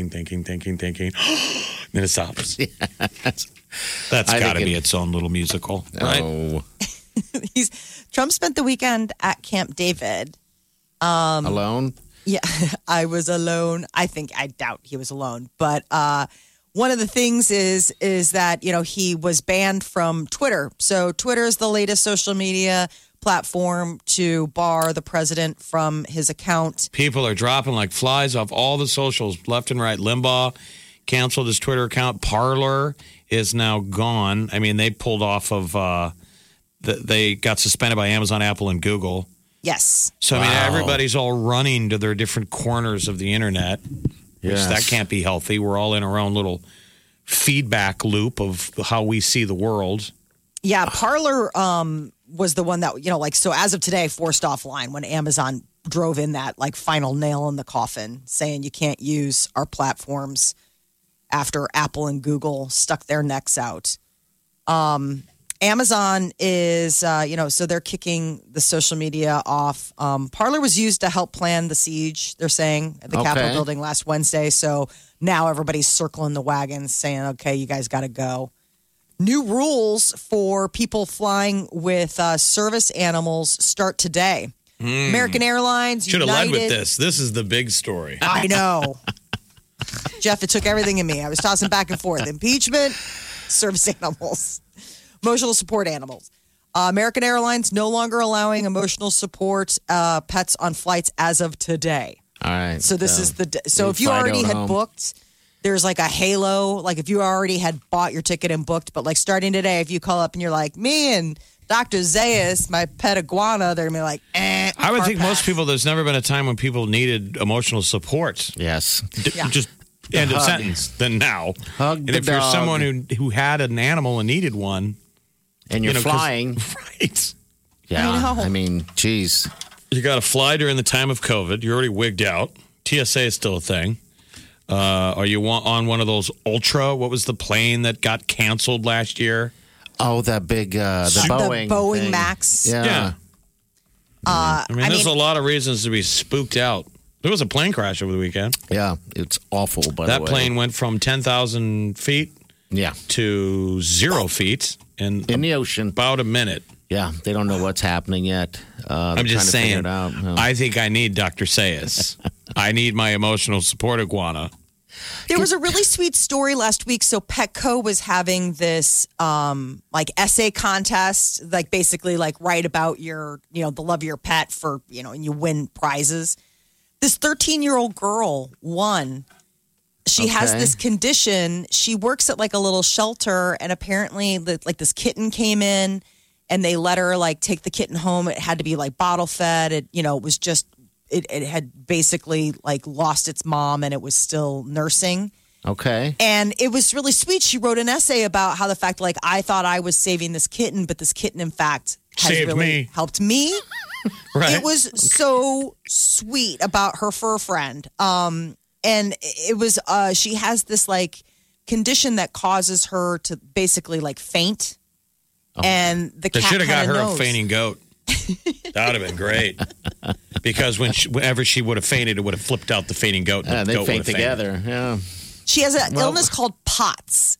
it stops. That's I got to think be its own little musical, right? Oh, Trump spent the weekend at Camp David. alone? Yeah, I was alone. I doubt he was alone. But one of the things is that, you know, he was banned from Twitter. So Twitter is the latest social media platform to bar the president from his account. People are dropping like flies off all the socials, left and right. Limbaugh canceled his Twitter account. Parler is now gone. I mean, they pulled off of, they got suspended by Amazon, Apple, and Google. Yes. So, I mean, everybody's all running to their different corners of the internet, which Yes. that can't be healthy. We're all in our own little feedback loop of how we see the world. Yeah, Parler was the one that, you know, like, so as of today, forced offline when Amazon drove in that, like, final nail in the coffin, saying you can't use our platforms after Apple and Google stuck their necks out. Amazon is, so they're kicking the social media off. Parler was used to help plan the siege, they're saying, at the Capitol building last Wednesday. So now everybody's circling the wagons saying, okay, you guys got to go. New rules for people flying with service animals start today. American Airlines, should have led United. with this. This is the big story. I know. Jeff, it took everything in me. I was tossing back and forth. Impeachment, service animals, emotional support animals. American Airlines no longer allowing emotional support pets on flights as of today. All right. So this is the so if you already had booked, there's like a halo. Like if you already had bought your ticket and booked, but like starting today, if you call up and you're like, me and Dr. Zayas, my pet iguana, they're gonna be like, I would think most people, there's never been a time when people needed emotional support. Yes. Just end of sentence. Then now. Hug and the if you're dog. someone who had an animal and needed one. And you're flying. Right. Yeah. I know. I mean, geez. You got to fly during the time of COVID. You're already wigged out. TSA is still a thing. Are you on one of those Ultra? What was the plane that got canceled last year? Oh, that big, the Boeing. The Boeing thing. Max. Yeah. I mean, there's a lot of reasons to be spooked out. There was a plane crash over the weekend. Yeah. It's awful, by the way. That plane went from 10,000 feet to 0 feet in the ocean. About a minute. Yeah. They don't know what's happening yet. I'm just saying, it out. No. I think I need Dr. Sayas. I need my emotional support iguana. There was a really sweet story last week. So Petco was having this like essay contest, like basically like write about your, the love of your pet for, and you win prizes. This 13-year-old girl won. She has this condition. She works at like a little shelter, and apparently like this kitten came in and they let her like take the kitten home. It had to be like bottle fed. It was just it had basically like lost its mom and it was still nursing. Okay. And it was really sweet. She wrote an essay about how the fact like I thought I was saving this kitten, but this kitten in fact has saved really me. helped me. Right. It was so sweet about her fur friend. And it was she has this like condition that causes her to basically like faint. And the They cat should have got kinda her knows. a fainting goat. That would have been great. Because whenever she would have fainted, it would have flipped out the fainting goat. And the they goat faint would have fainted. together. Yeah. She has an illness called POTS.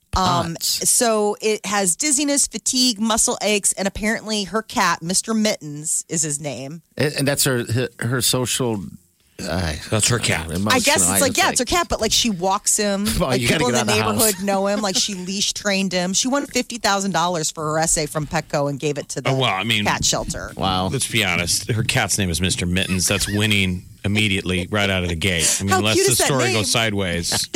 So it has dizziness, fatigue, muscle aches, and apparently her cat, Mr. Mittens, is his name. And that's her social. That's her cat. I guess it's like, it's her cat, but like she walks him. Well, like you gotta people in get the out of the neighborhood house. know him. Like she leash trained him. She won $50,000 for her essay from Petco and gave it to the cat shelter. Wow. Let's be honest. Her cat's name is Mr. Mittens. That's winning immediately right out of the gate. I mean, How unless cute the is that story name? goes sideways.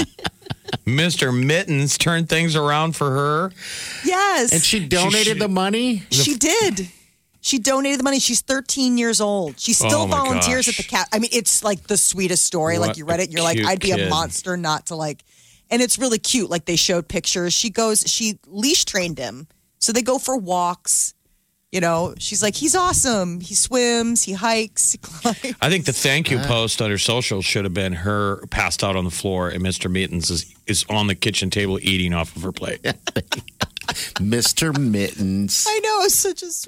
Mr. Mittens turned things around for her. Yes. And she donated the money? She did. She donated the money. She's 13 years old. She still Oh, my volunteers gosh. at the cat. I mean, it's like the sweetest story. What like you read it, and you're like, a I'd be cute a kid. monster not to like. And it's really cute. Like they showed pictures. She leash trained him. So they go for walks. She's like, he's awesome. He swims, he hikes, he climbs. I think the thank you post on her social should have been her passed out on the floor and Mr. Mittens is on the kitchen table eating off of her plate. Mr. Mittens. I know, it's such a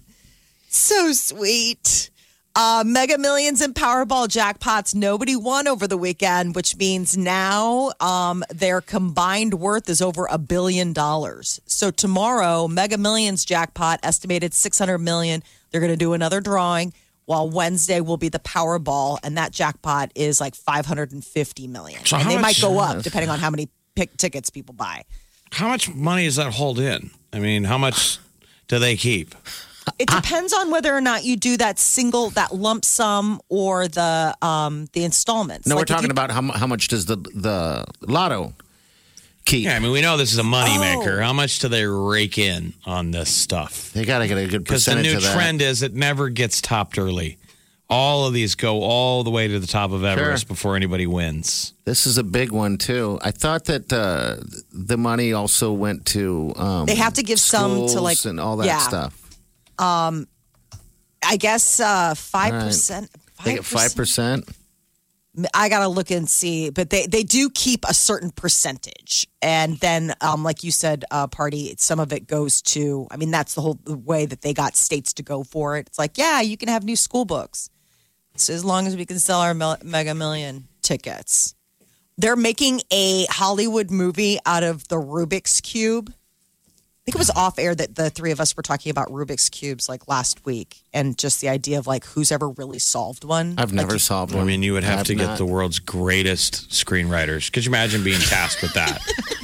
so sweet. Mega Millions and Powerball jackpots. Nobody won over the weekend, which means now their combined worth is over $1 billion. So tomorrow, Mega Millions jackpot estimated $600 million. They're going to do another drawing. While Wednesday will be the Powerball, and that jackpot is like $550 million. So and how they much- might go up depending on how many tickets people buy. How much money does that hold in? I mean, how much do they keep? It depends on whether or not you do that lump sum or the installments. No, Like we're if talking you- about how much does the lotto keep? Yeah, I mean, we know this is a moneymaker. How much do they rake in on this stuff? They got to get a good Because the percentage new of that. trend is it never gets topped early. All of these go all the way to the top of Everest before anybody wins. This is a big one too. I thought that the money also went to They have to give some to schools like and all that stuff. I guess 5%. They get 5%. I got to look and see, but they do keep a certain percentage. And then, like you said, Party, some of it goes to, I mean, that's the way that they got states to go for it. It's like, yeah, you can have new school books. So as long as we can sell our Mega Million tickets. They're making a Hollywood movie out of the Rubik's Cube. I think it was off air that the three of us were talking about Rubik's Cubes like last week and just the idea of like who's ever really solved one. I've never solved one. I mean, you would have to get the world's greatest screenwriters. Could you imagine being tasked with that?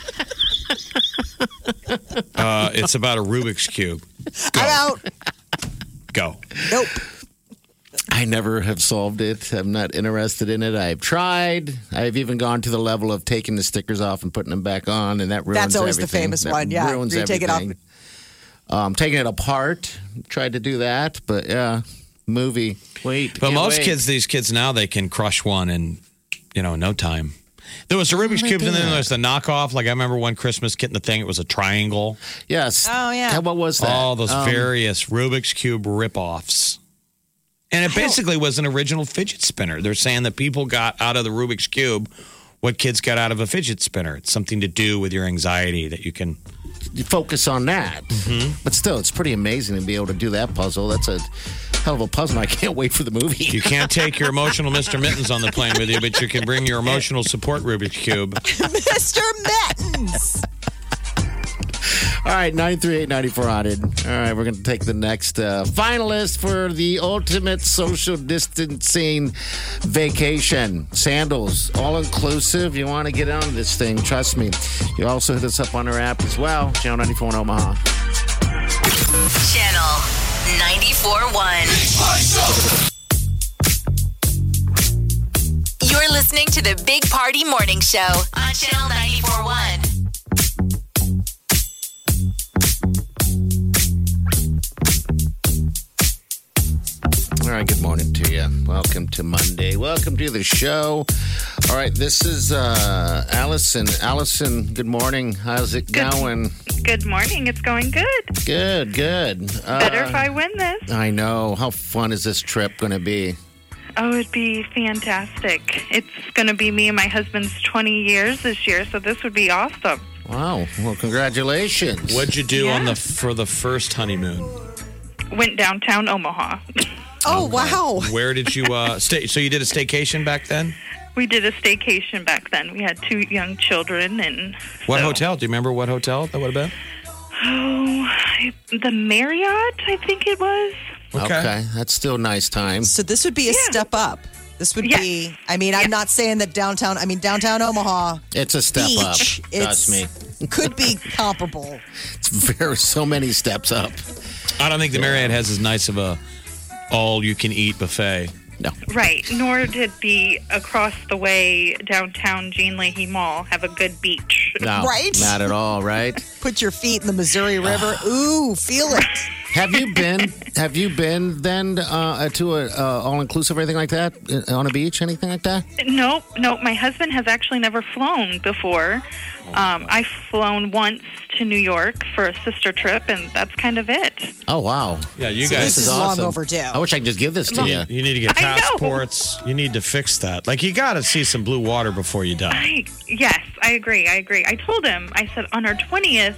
It's about a Rubik's Cube. Go. I'm out. Go. Nope. I never have solved it. I'm not interested in it. I've tried. I've even gone to the level of taking the stickers off and putting them back on, and that ruins That's always everything. the famous That one, yeah. ruins You take it off. Taking it apart. Tried to do that, but yeah, movie. Wait. But can't most wait. these kids now, they can crush one in, no time. There was the Rubik's Cubes, and then there's the knockoff. Like I remember one Christmas getting the thing; it was a triangle. Yes. Oh yeah. What was that? All those various Rubik's Cube ripoffs. And it basically was an original fidget spinner. They're saying that people got out of the Rubik's Cube what kids got out of a fidget spinner. It's something to do with your anxiety that you can focus on that. Mm-hmm. But still, it's pretty amazing to be able to do that puzzle. That's a hell of a puzzle. I can't wait for the movie. You can't take your emotional Mr. Mittens on the plane with you, but you can bring your emotional support Rubik's Cube. Mr. Mittens. All right, 938-9400. All right, we're going to take the next finalist for the ultimate social distancing vacation. Sandals, all-inclusive. You want to get on this thing, trust me. You also hit us up on our app as well, Channel 94 in Omaha. Channel 94.1. You're listening to the Big Party Morning Show on Channel 94.1. All right, good morning to you. Welcome to Monday. Welcome to the show. All right, this is Allison. Allison, good morning. How's it going? Good morning. It's going good. Good. Better if I win this. I know. How fun is this trip going to be? Oh, it'd be fantastic. It's going to be me and my husband's 20 years this year, so this would be awesome. Wow. Well, congratulations. What'd you do for the first honeymoon? Went downtown Omaha. Oh, wow. Where did you stay? So you did a staycation back then? We did a staycation back then. We had 2 young children. And what hotel? Do you remember what hotel that would have been? Oh, the Marriott, I think it was. Okay. That's still a nice time. So this would be a step up. This would be, I mean, I'm not saying that downtown Omaha. It's a step up. Trust me. Could be comparable. It's so many steps up. I don't think the Marriott has as nice of a all-you-can-eat buffet. No. Right. Nor did the across the way downtown Jean Leahy Mall have a good beach. No, right? Not at all, right? Put your feet in the Missouri River. Ooh, feel it. Have you been then to a all-inclusive or anything like that? On a beach, anything like that? Nope. My husband has actually never flown before. I've flown once to New York for a sister trip, and that's kind of it. Oh, wow. Yeah, you So guys. this is awesome. long overdue. I wish I could just give this to you. You need to get passports. You need to fix that. Like, you got to see some blue water before you die. Yes, I agree. I told him, I said, on our 20th,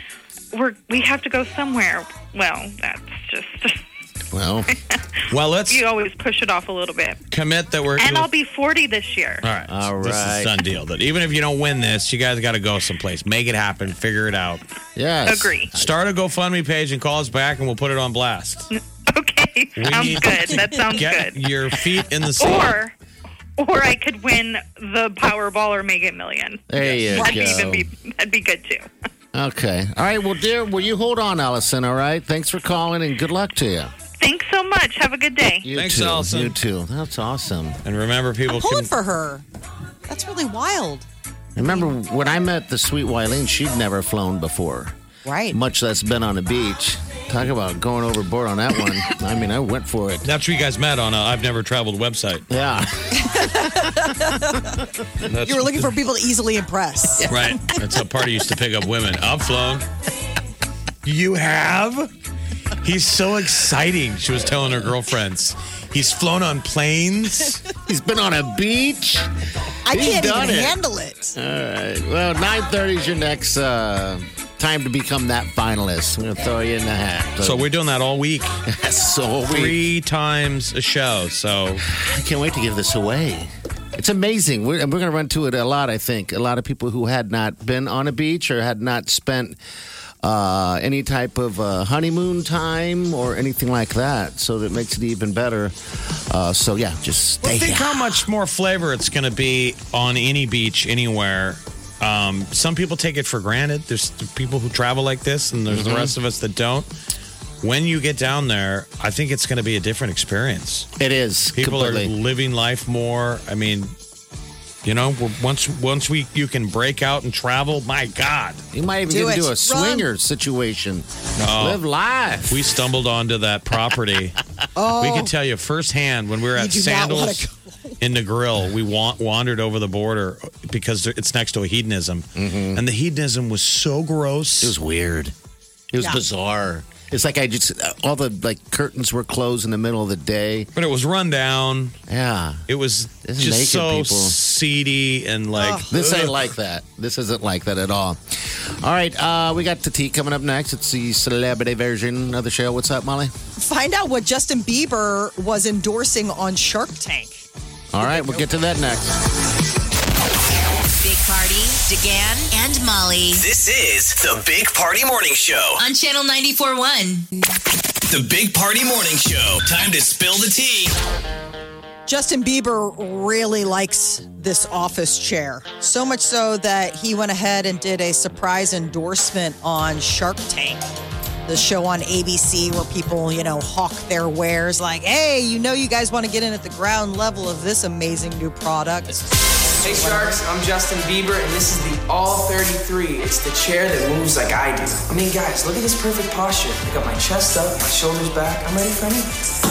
we have to go somewhere. Well, that's just... Well, let's... You always push it off a little bit. Commit that we're... And I'll be 40 this year. All right. This is a done deal. That even if you don't win this, you guys got to go someplace. Make it happen. Figure it out. Yes. Agree. Start a GoFundMe page and call us back, and we'll put it on blast. Okay. Sounds good. That sounds Get good. your feet in the sand. Or I could win the Powerball or Mega Million. There you go. That'd be good, too. Okay. All right. Well, dear, will you hold on, Allison, all right? Thanks for calling, and good luck to you. Thanks so much. Have a good day. Thanks, too. Allison. You too. That's awesome. And remember, people I'm pulling for her. That's really wild. Remember when I met the sweet Wileen, she'd never flown before. Right. Much less been on a beach. Talk about going overboard on that one. I mean, I went for it. That's where you guys met on a I've Never Traveled website. Yeah. You were looking for people to easily impress. Right. That's how Party used to pick up women. I've flown. You have? He's so exciting, she was telling her girlfriends. He's flown on planes. He's been on a beach. I He's can't even done it. handle it. All right. Well, 9:30 is your next time to become that finalist. I'm going to throw you in the hat. So we're doing that all week. So we 3 times a show. So I can't wait to give this away. It's amazing. We're going to run to it a lot, I think. A lot of people who had not been on a beach or had not spent any type of honeymoon time or anything like that. So that makes it even better. So, yeah, just stay think how much more flavor it's going to be on any beach anywhere. Some people take it for granted. There's people who travel like this, and there's the rest of us that don't. When you get down there, I think it's going to be a different experience. It is. People completely. are living life more. I mean, you know, once you can break out and travel, my God. You might even get into a swinger situation. Live life. We stumbled onto that property. We can tell you firsthand when we were at Sandals in the grill, we wandered over the border because it's next to a hedonism. And the hedonism was so gross. It was weird. It was bizarre. It's like all the curtains were closed in the middle of the day. But it was run down. Yeah. It was just so seedy and This ain't like that. This isn't like that at all. All right. We got the tea coming up next. It's the celebrity version of the show. What's up, Molly? Find out what Justin Bieber was endorsing on Shark Tank. All right. We'll get to that next. Big Party, DeGan, and Molly. This is the Big Party Morning Show On Channel 94.1. The Big Party Morning Show. Time to spill the tea. Justin Bieber really likes this office chair. So much so that he went ahead and did a surprise endorsement on Shark Tank, the show on ABC where people, hawk their wares like, hey, you guys want to get in at the ground level of this amazing new product. Hey Sharks, I'm Justin Bieber, and this is the All 33. It's the chair that moves like I do. I mean, guys, look at this perfect posture. I got my chest up, my shoulders back. I'm ready for anything.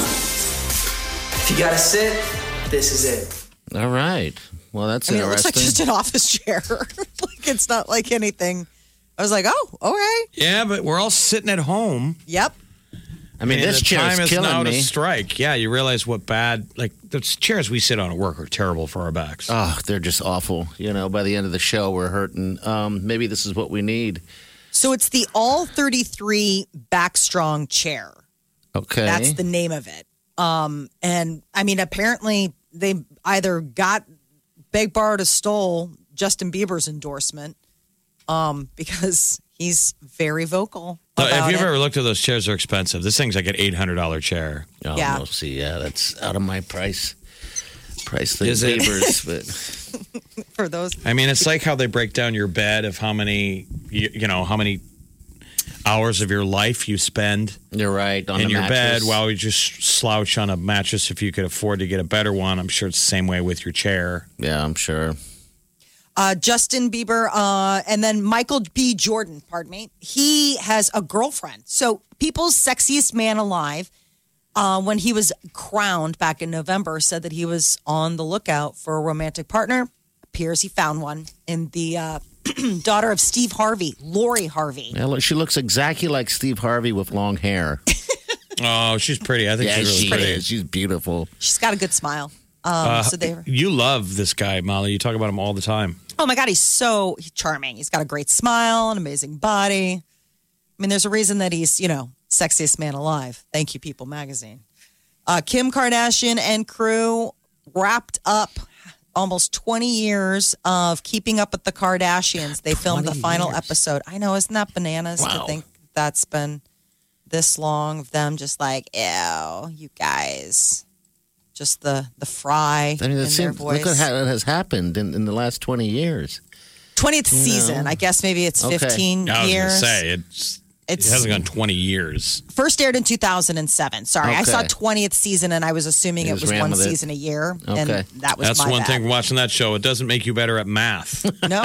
If you gotta sit, this is it. All right. Well, that's It interesting. looks like just an office chair. It's not like anything. I was like, oh, all right. Yeah, but we're all sitting at home. Yep. I mean, this the chair time is is killing now me. to strike. Yeah, you realize what bad, the chairs we sit on at work are terrible for our backs. Oh, they're just awful. By the end of the show, we're hurting. Maybe this is what we need. So it's the All 33 Backstrong chair. Okay. That's the name of it. And I mean, apparently they either got Beg, Borrowed, or Stole Justin Bieber's endorsement because he's very vocal. If you've ever looked at those chairs, they're expensive. This thing's like an $800 chair. Oh, Yeah. no, see, that's out of my price thing. Is it? Papers, but For those, I mean, it's like how they break down your bed of how many, how many hours of your life you spend. You're right. On in the your mattress. bed while you just slouch on a mattress if you could afford to get a better one. I'm sure it's the same way with your chair. Yeah, I'm sure. Justin Bieber, and then Michael B. Jordan, pardon me. He has a girlfriend. So People's Sexiest Man Alive, when he was crowned back in November, said that he was on the lookout for a romantic partner. Appears he found one in the daughter of Steve Harvey, Lori Harvey. Yeah, look, she looks exactly like Steve Harvey with long hair. Oh, she's pretty. I think she's really pretty. is. She's beautiful. She's got a good smile. So they were, You love this guy, Molly. You talk about him all the time. oh my God, he's charming. He's got a great smile, an amazing body. I mean, there's a reason that he's, sexiest man alive. Thank you, People Magazine. Kim Kardashian and crew wrapped up almost 20 years of Keeping Up with the Kardashians. They filmed the final episode. I know, isn't that bananas to think that's been this long of them just like, ew, you guys. Just the fry I mean, in their voice. look at what has happened in the last 20 years. 20th season. I guess maybe it's 15 I was years. going to say, it hasn't gone 20 years. First aired in 2007. Sorry, I saw Okay. 20th season and I was assuming it was ran one with it. season a year. Okay. And that was That's my one bad. thing from watching that show. It doesn't make you better at math. No.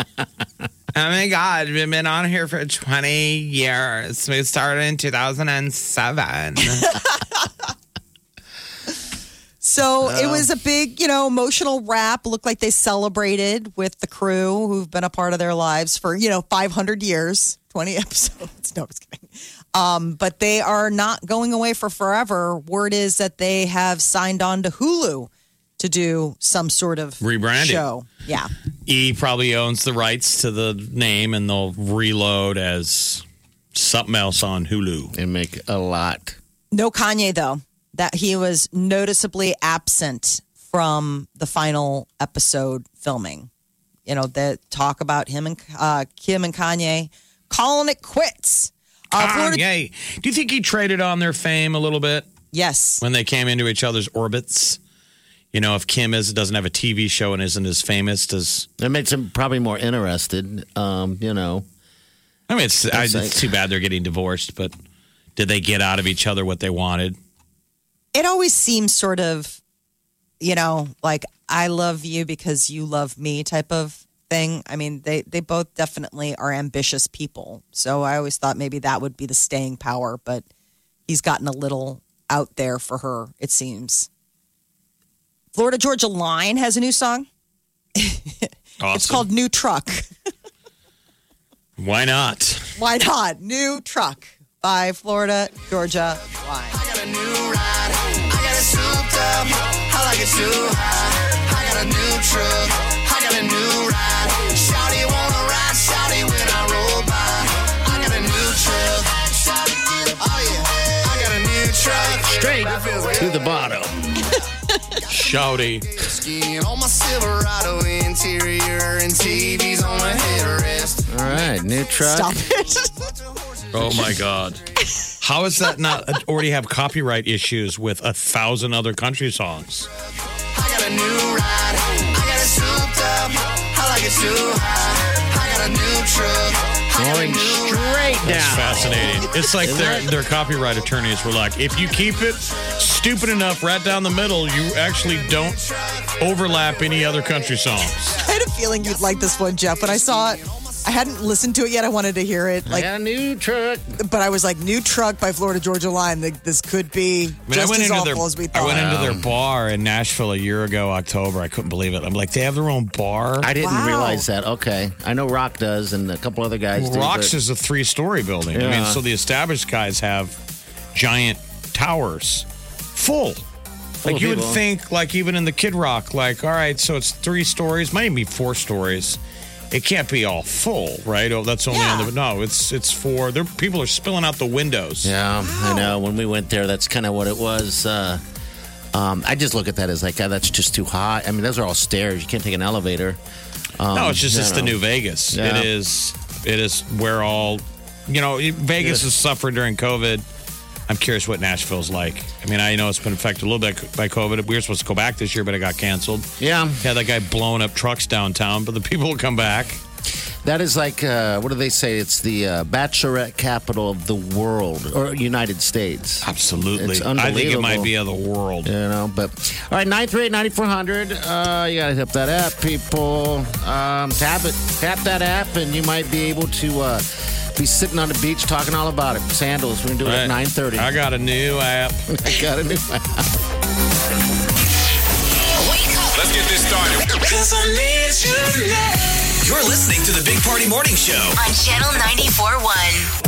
Oh my God, we've been on here for 20 years. We started in 2007. So it was a big, emotional wrap. Looked like they celebrated with the crew who've been a part of their lives for, 500 years, 20 episodes. No, I was kidding. But they are not going away for forever. Word is that they have signed on to Hulu to do some sort of rebranding show. Yeah. E probably owns the rights to the name, and they'll reload as something else on Hulu. And make a lot. No Kanye, though. That he was noticeably absent from the final episode filming. The talk about him and Kim and Kanye calling it quits. Kanye. Do you think he traded on their fame a little bit? Yes. When they came into each other's orbits? If Kim doesn't have a TV show and isn't as famous, that makes him probably more interested. I mean, it's too bad they're getting divorced, but did they get out of each other what they wanted? It always seems sort of, like I love you because you love me type of thing. I mean, they both definitely are ambitious people. So I always thought maybe that would be the staying power, but he's gotten a little out there for her, it seems. Florida Georgia Line has a new song. Awesome. It's called New Truck. Why not? Why not? New Truck by Florida Georgia Line. I got a new ride. I got it souped up. I like it too high. I got a new truck. I got a new ride. Shawty wanna ride. Shawty when I roll by. I got a new truck. Oh yeah. I got a new truck. Straight to the bottom. Shouty. Skin on my Silverado interior and TVs on my headrest. All right, new truck. Stop it. Oh my God. How is that not already have copyright issues with 1,000 other country songs? I got a new ride. I got it souped up. I like it too high. I got a new truck. Going straight down. That's fascinating. It's like their copyright attorneys were like, if you keep it stupid enough right down the middle, you actually don't overlap any other country songs. I had a feeling you'd like this one, Jeff. When I saw it, I hadn't listened to it yet. I wanted to hear it. I got a new truck. But I was like, New Truck by Florida Georgia Line. This could be just as awful as we thought. I went into their bar in Nashville a year ago, October. I couldn't believe it. I'm like, they have their own bar? I didn't realize that. Okay. I know Rock does and a couple other guys do. Rock's is a 3-story building. Yeah. I mean, so the established guys have giant towers full. Like you would think, like even in the Kid Rock, like, all right, so it's 3 stories, might even be 4 stories. It can't be all full, right? Oh, that's only on the... No, it's 4. People are spilling out the windows. Yeah, I know. When we went there, that's kind of what it was. I just look at that as like, that's just too high. I mean, those are all stairs. You can't take an elevator. No, it's just the new Vegas. Yeah. It is where all... Vegas has suffered during COVID. I'm curious what Nashville's like. I mean, I know it's been affected a little bit by COVID. We were supposed to go back this year, but it got canceled. Yeah. Had that guy blowing up trucks downtown, but the people will come back. That is like, what do they say? It's the bachelorette capital of the world, or United States. Absolutely. It's unbelievable. I think it might be of the world. But all right, 938-9400. You got to hit that app, people. Tap it. Tap that app, and you might be able to be sitting on the beach talking all about it. Sandals, we're going to do it at 9:30. I got a new app. I got a new app. Wake up. Let's get this started. 'Cause I need you now. You're listening to the Big Party Morning Show On Channel 94.1.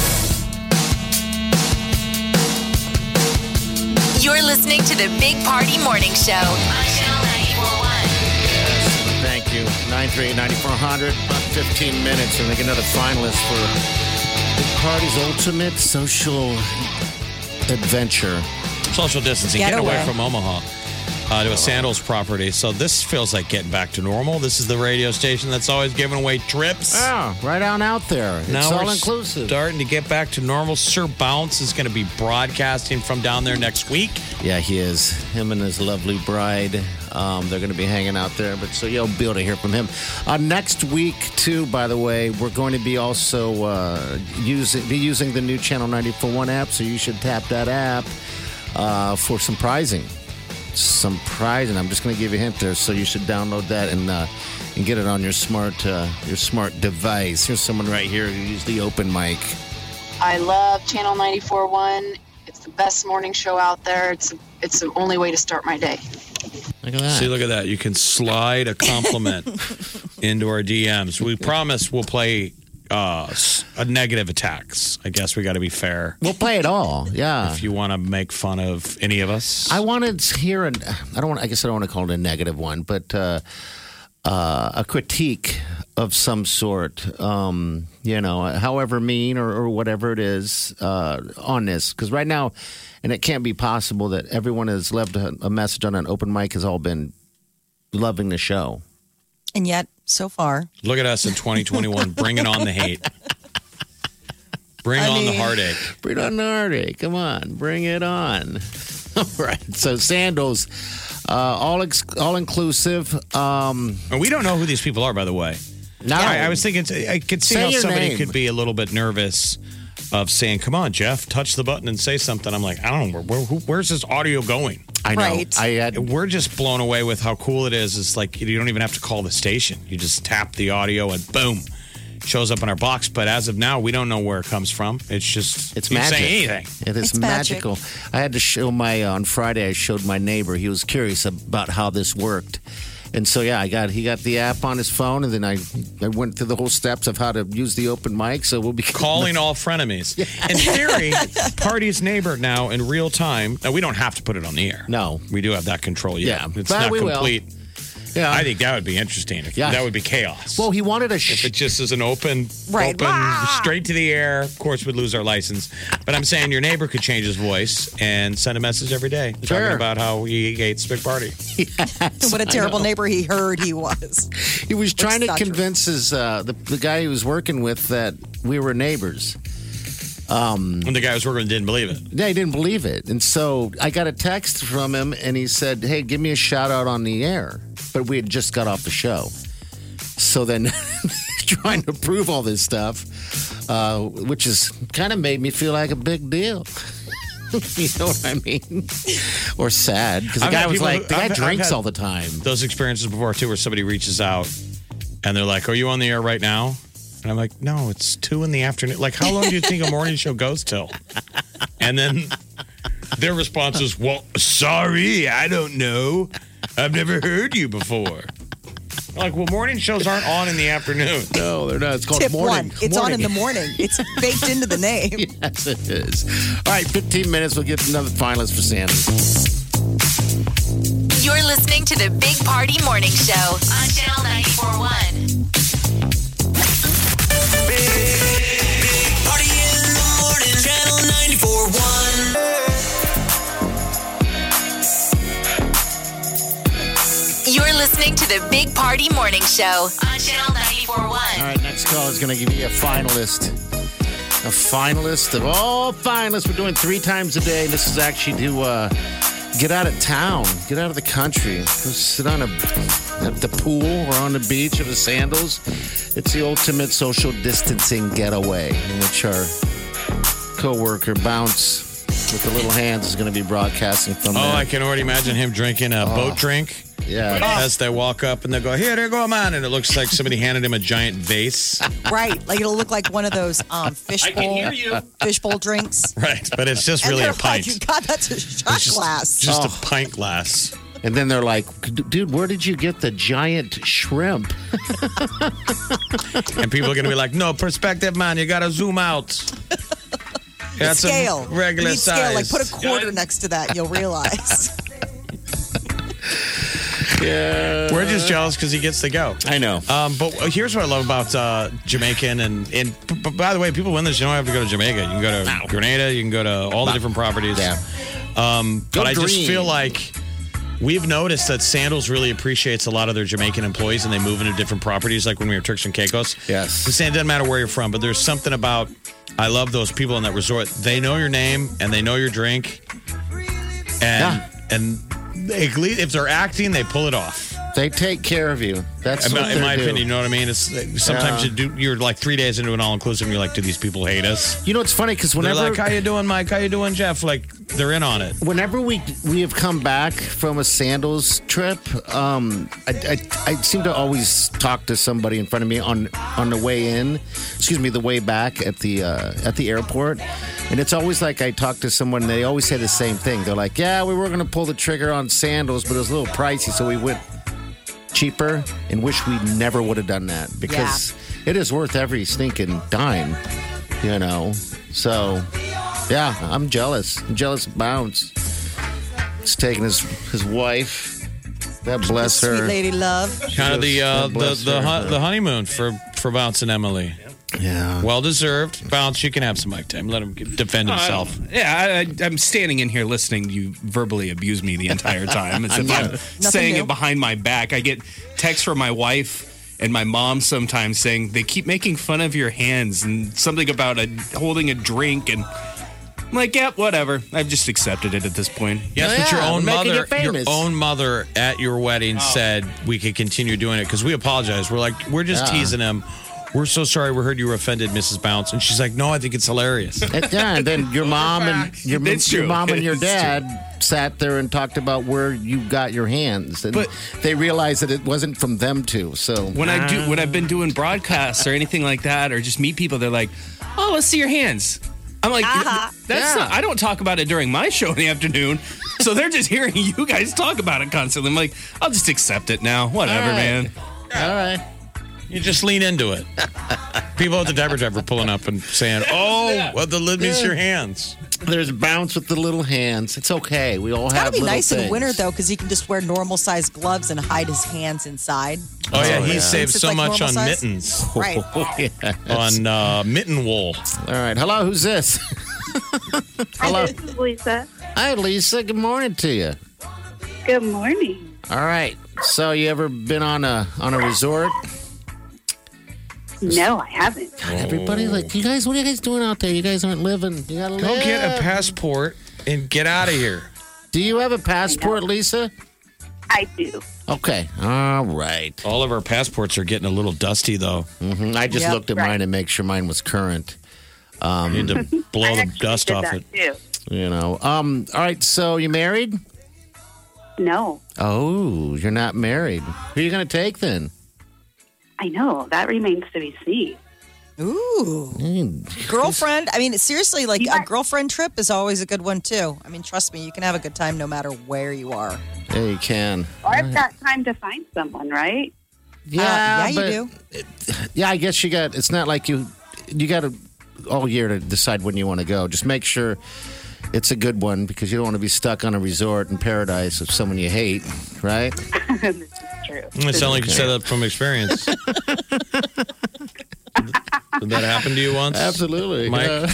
You're listening to the Big Party Morning Show on Channel 94.1. Thank you. 938-9400. About 15 minutes, and we get another finalist for Big Party's ultimate social adventure. Social distancing. Get Get away away. from Omaha to a Sandals property. So this feels like getting back to normal. This is the radio station that's always giving away trips. Yeah, right on out there. It's Now all we're inclusive. starting to get back to normal. Sir Bounce is going to be broadcasting from down there next week. Yeah, he is. Him and his lovely bride. They're going to be hanging out there, but so you'll be able to hear from him. Next week, too, by the way, we're going to be also using the new Channel 94.1 app, so you should tap that app for some prizing. I'm just going to give you a hint there, so you should download that and get it on your smart device. Here's someone right here who used the open mic. I love Channel 94.1. It's the best morning show out there. It's the only way to start my day. Look at that. See, look at that. You can slide a compliment into our DMs. We promise we'll play a negative attacks. I guess we got to be fair. We'll play it all. Yeah. If you want to make fun of any of us. I wanted to hear I guess I don't want to call it a negative one, but a critique of some sort, however mean or whatever it is, on this. Because right now, and it can't be possible that everyone has left a message on an open mic has all been loving the show. And yet, so far. Look at us in 2021, bringing on the hate. Bring on the heartache. Bring on the heartache. Come on, bring it on. All right. So sandals, all inclusive. And we don't know who these people are, by the way. No, I was thinking I could see how somebody name. could be a little bit nervous of saying, "Come on, Jeff, touch the button and say something." I'm like, I don't know where's this audio going. I know. Right. We're just blown away with how cool it is. It's like you don't even have to call the station. You just tap the audio and boom, shows up in our box. But as of now, we don't know where it comes from. It's just it's you can magic. say anything. It is magical. I had to show on Friday. I showed my neighbor. He was curious about how this worked. And so, yeah, he got the app on his phone, and then I went through the whole steps of how to use the open mic. So we'll be calling all frenemies. In theory, Party's neighbor now in real time. Now we don't have to put it on the air. No, we do have that control. Yet. Yeah, it's but not we complete. Will. Yeah, I think that would be interesting. That would be chaos. Well, he wanted if it just is an open, right, straight to the air. Of course, we'd lose our license. But I'm saying your neighbor could change his voice and send a message every day talking about how he hates Big Party. Yes, what a terrible neighbor he heard he was. He was trying to convince his the guy he was working with that we were neighbors. When the guy was working didn't believe it. Yeah, he didn't believe it. And so I got a text from him, and he said, hey, give me a shout out on the air. But we had just got off the show. So then trying to prove all this stuff, which is kind of made me feel like a big deal. You know what I mean? Or sad. Because the guy was like, the guy drinks all the time. Those experiences before, too, where somebody reaches out, and they're like, are you on the air right now? And I'm like, no, it's 2 p.m. Like, how long do you think a morning show goes till? And then their response is, well, sorry, I don't know. I've never heard you before. Like, well, morning shows aren't on in the afternoon. No, they're not. It's called Tip morning. 1. It's on in the morning. It's baked into the name. Yes, it is. All right, 15 minutes. We'll get another finalist for Sandy. You're listening to the Big Party Morning Show on Channel 94.1. Big Party in the morning, Channel 94.1. You're listening to the Big Party Morning Show on Channel 94.1. All right, next call is going to give you a finalist. A finalist of all finalists. We're doing 3 times a day. This is actually to get out of town, get out of the country. Go sit at the pool or on the beach or the sandals. It's the ultimate social distancing getaway in which our co-worker Bounce with the little hands is going to be broadcasting from there. I can already imagine him drinking a boat drink. Yeah. As they walk up and they go, here they go, man. And it looks like somebody handed him a giant vase. Right. Like it'll look like one of those fishbowl drinks. Right. But it's just really a pint. Like, God, that's a shot glass. Just a pint glass. And then they're like, dude, where did you get the giant shrimp? And people are going to be like, no, perspective, man. You got to zoom out. That's scale. A regular size. Scale. Like put a quarter next to that. You'll realize. Yeah. We're just jealous because he gets to go. I know. But here's what I love about Jamaican. And by the way, people win this. You don't have to go to Jamaica. You can go to Grenada. You can go to all the different properties. Yeah. But I just feel like we've noticed that Sandals really appreciates a lot of their Jamaican employees and they move into different properties, like when we were Turks and Caicos. Yes. The same doesn't matter where you're from, but there's something about, I love those people in that resort. They know your name and they know your drink. And if they're acting, they pull it off. They take care of you. That's in what my they do. opinion. You know what I mean? It's sometimes you're like 3 days into an all-inclusive, and you're like, do these people hate us? You know, it's funny because whenever they're like, how you doing, Mike? How you doing, Jeff? Like, they're in on it. Whenever we have come back from a sandals trip, I seem to always talk to somebody in front of me on the way in. Excuse me, the way back at the airport, and it's always like I talk to someone. They always say the same thing. They're like, "Yeah, we were going to pull the trigger on sandals, but it was a little pricey, so we went cheaper." And wish we never would have done that because it is worth every stinking dime, you know. So. Yeah, I'm jealous. I'm jealous of Bounce. He's taking his wife. God bless her. Sweet lady love. Kind of the honeymoon for Bounce and Emily. Yeah. Well deserved. Bounce, you can have some mic time. Let him defend himself. I'm standing in here listening to you verbally abuse me the entire time. As if I'm saying it behind my back. I get texts from my wife and my mom sometimes saying they keep making fun of your hands and something about holding a drink, and I'm like, yeah, whatever. I've just accepted it at this point. Yes, but your own mother at your wedding said we could continue doing it because we apologize. We're just teasing him. We're so sorry. We heard you were offended, Mrs. Bounce. And she's like, no, I think it's hilarious. And then your mom and your mom and your dad sat there and talked about where you got your hands, and they realized that it wasn't from them too. So when I've been doing broadcasts or anything like that, or just meet people, they're like, "Oh, let's see your hands." I'm like, that's not, I don't talk about it during my show in the afternoon. So they're just hearing you guys talk about it constantly. I'm like, I'll just accept it now. Whatever, man. All right. You just lean into it. People at the diaper driver pulling up and saying, "Oh, well, let me see your hands." There's Bounce with the little hands. It's okay. We all have It's got to be little nice things. in winter, though, because he can just wear normal-sized gloves and hide his hands inside. Oh, yeah. He saves It's so like much on normal size. mittens. Right. On mitten wool. All right. Hello, who's this? Hello. This is Lisa. Hi, Lisa. Good morning to you. Good morning. All right. So, you ever been on a resort? No, I haven't. Everybody, like, you guys, what are you guys doing out there? You guys aren't living. You gotta Go live. get a passport and get out of here. Do you have a passport, Lisa? I do. Okay. All right. All of our passports are getting a little dusty, though. Mm-hmm. I just looked at mine to make sure mine was current. You need to blow the dust off it. Too. You know. All right. So, you married? No. Oh, you're not married. Who are you going to take then? I know. That remains to be seen. Ooh. Girlfriend. I mean, seriously, like a girlfriend trip is always a good one, too. I mean, trust me, you can have a good time no matter where you are. Yeah, you can. Or I've got time to find someone, right? Yeah, you do. Yeah, I guess you got. It's not like you got all year to decide when you want to go. Just make sure it's a good one because you don't want to be stuck on a resort in paradise with someone you hate, right? This is true. It sounds like you said that from experience. Did that happen to you once? Absolutely, Mike? Yeah.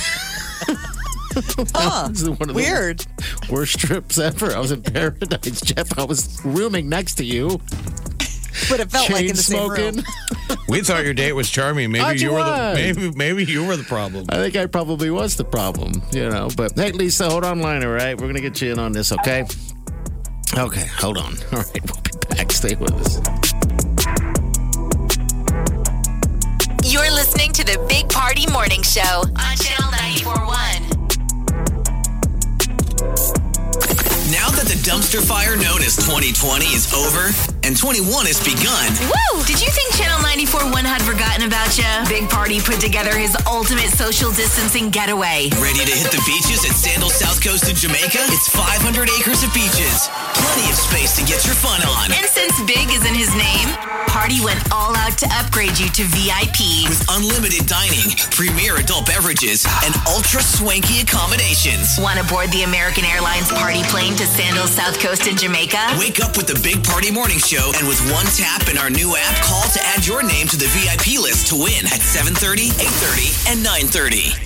Huh. This is one of Weird. the worst trips ever. I was in paradise, Jeff. I was rooming next to you. But it felt like Chain in the same smoking. room. We thought your date was charming. Maybe How'd you you were was? maybe you were the problem. I think I probably was the problem, you know. But hey, Lisa, hold on line, all right? We're gonna get you in on this, okay? Okay, hold on. All right, we'll be back. Stay with us. You're listening to the Big Party Morning Show on Channel 94.1. Now that the dumpster fire known as 2020 is over and 21 has begun. Woo! Did you think Channel 94.1 had forgotten about you? Big Party put together his ultimate social distancing getaway. Ready to hit the beaches at Sandals South Coast in Jamaica? It's 500 acres of beaches. Plenty of space to get your fun on. And since Big is in his name, Party went all out to upgrade you to VIP. With unlimited dining, premier adult beverages, and ultra swanky accommodations. Want to board the American Airlines Party plane to Sandals South Coast in Jamaica? Wake up with the Big Party Morning Show, and with one tap in our new app, call to add your name to the VIP list to win at 7:30, 8:30, and 9:30.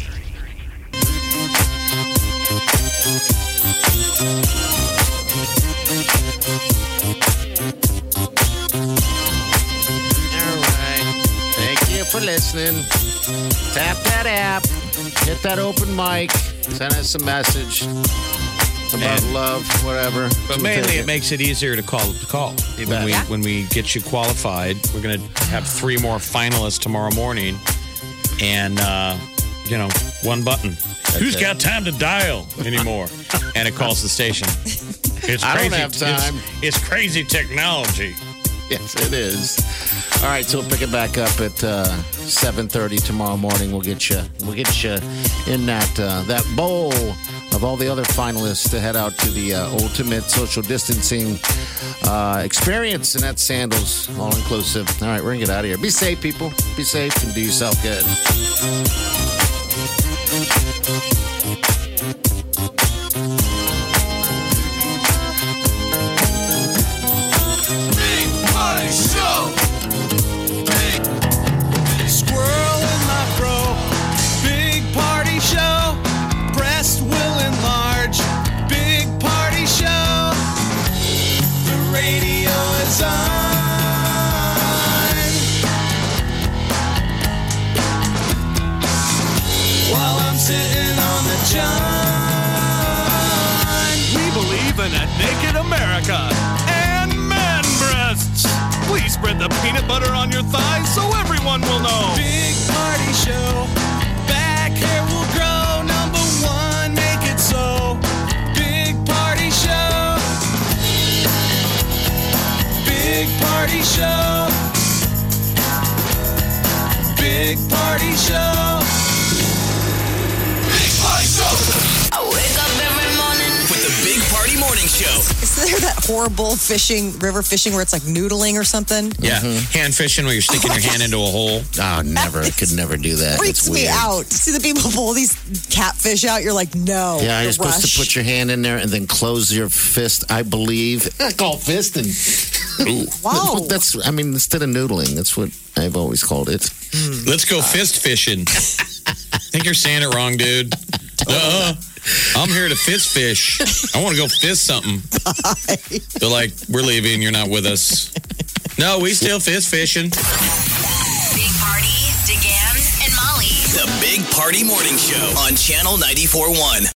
All right. Thank you for listening. Tap that app. Hit that open mic. Send us a message. about love, whatever. But mainly, it makes it easier to call. When we get you qualified, we're going to have 3 more finalists tomorrow morning, and one button. Who's got time to dial anymore? And it calls the station. It's crazy. I don't have time. It's crazy technology. Yes, it is. All right, so we'll pick it back up at 7:30 tomorrow morning. We'll get you in that bowl of all the other finalists to head out to the ultimate social distancing experience, and that's Sandals, all inclusive. All right, we're gonna get out of here. Be safe, people. Be safe and do yourself good. Show. Big squirrel in my fro. Big party show. Breast will enlarge. Big party show. The radio is on. While I'm sitting on the john. We believe in a naked America and man breasts. Please spread the peanut butter on your thighs so everyone will know. Big party show. Back hair will grow. Number 1, make it so. Big party show. Big party show. Big party show. Big party show. I wake up every morning with the Big Party Morning Show. Is there that horrible river fishing where it's like noodling or something? Yeah, hand fishing where you're sticking your hand into a hole. Oh, never. I could never do that. Freaks me out. See the people pull these catfish out. You're like, no. Yeah, you're supposed rush. to put your hand in there and then close your fist, I believe. I call fisting. Wow. Instead of noodling, that's what I've always called it. Let's go fist fishing. I think you're saying it wrong, dude. I'm here to fish. I want to go fist something. Bye. They're like, we're leaving. You're not with us. No, we still fishing. Big Party, DeGan, and Molly. The Big Party Morning Show on Channel 94.1.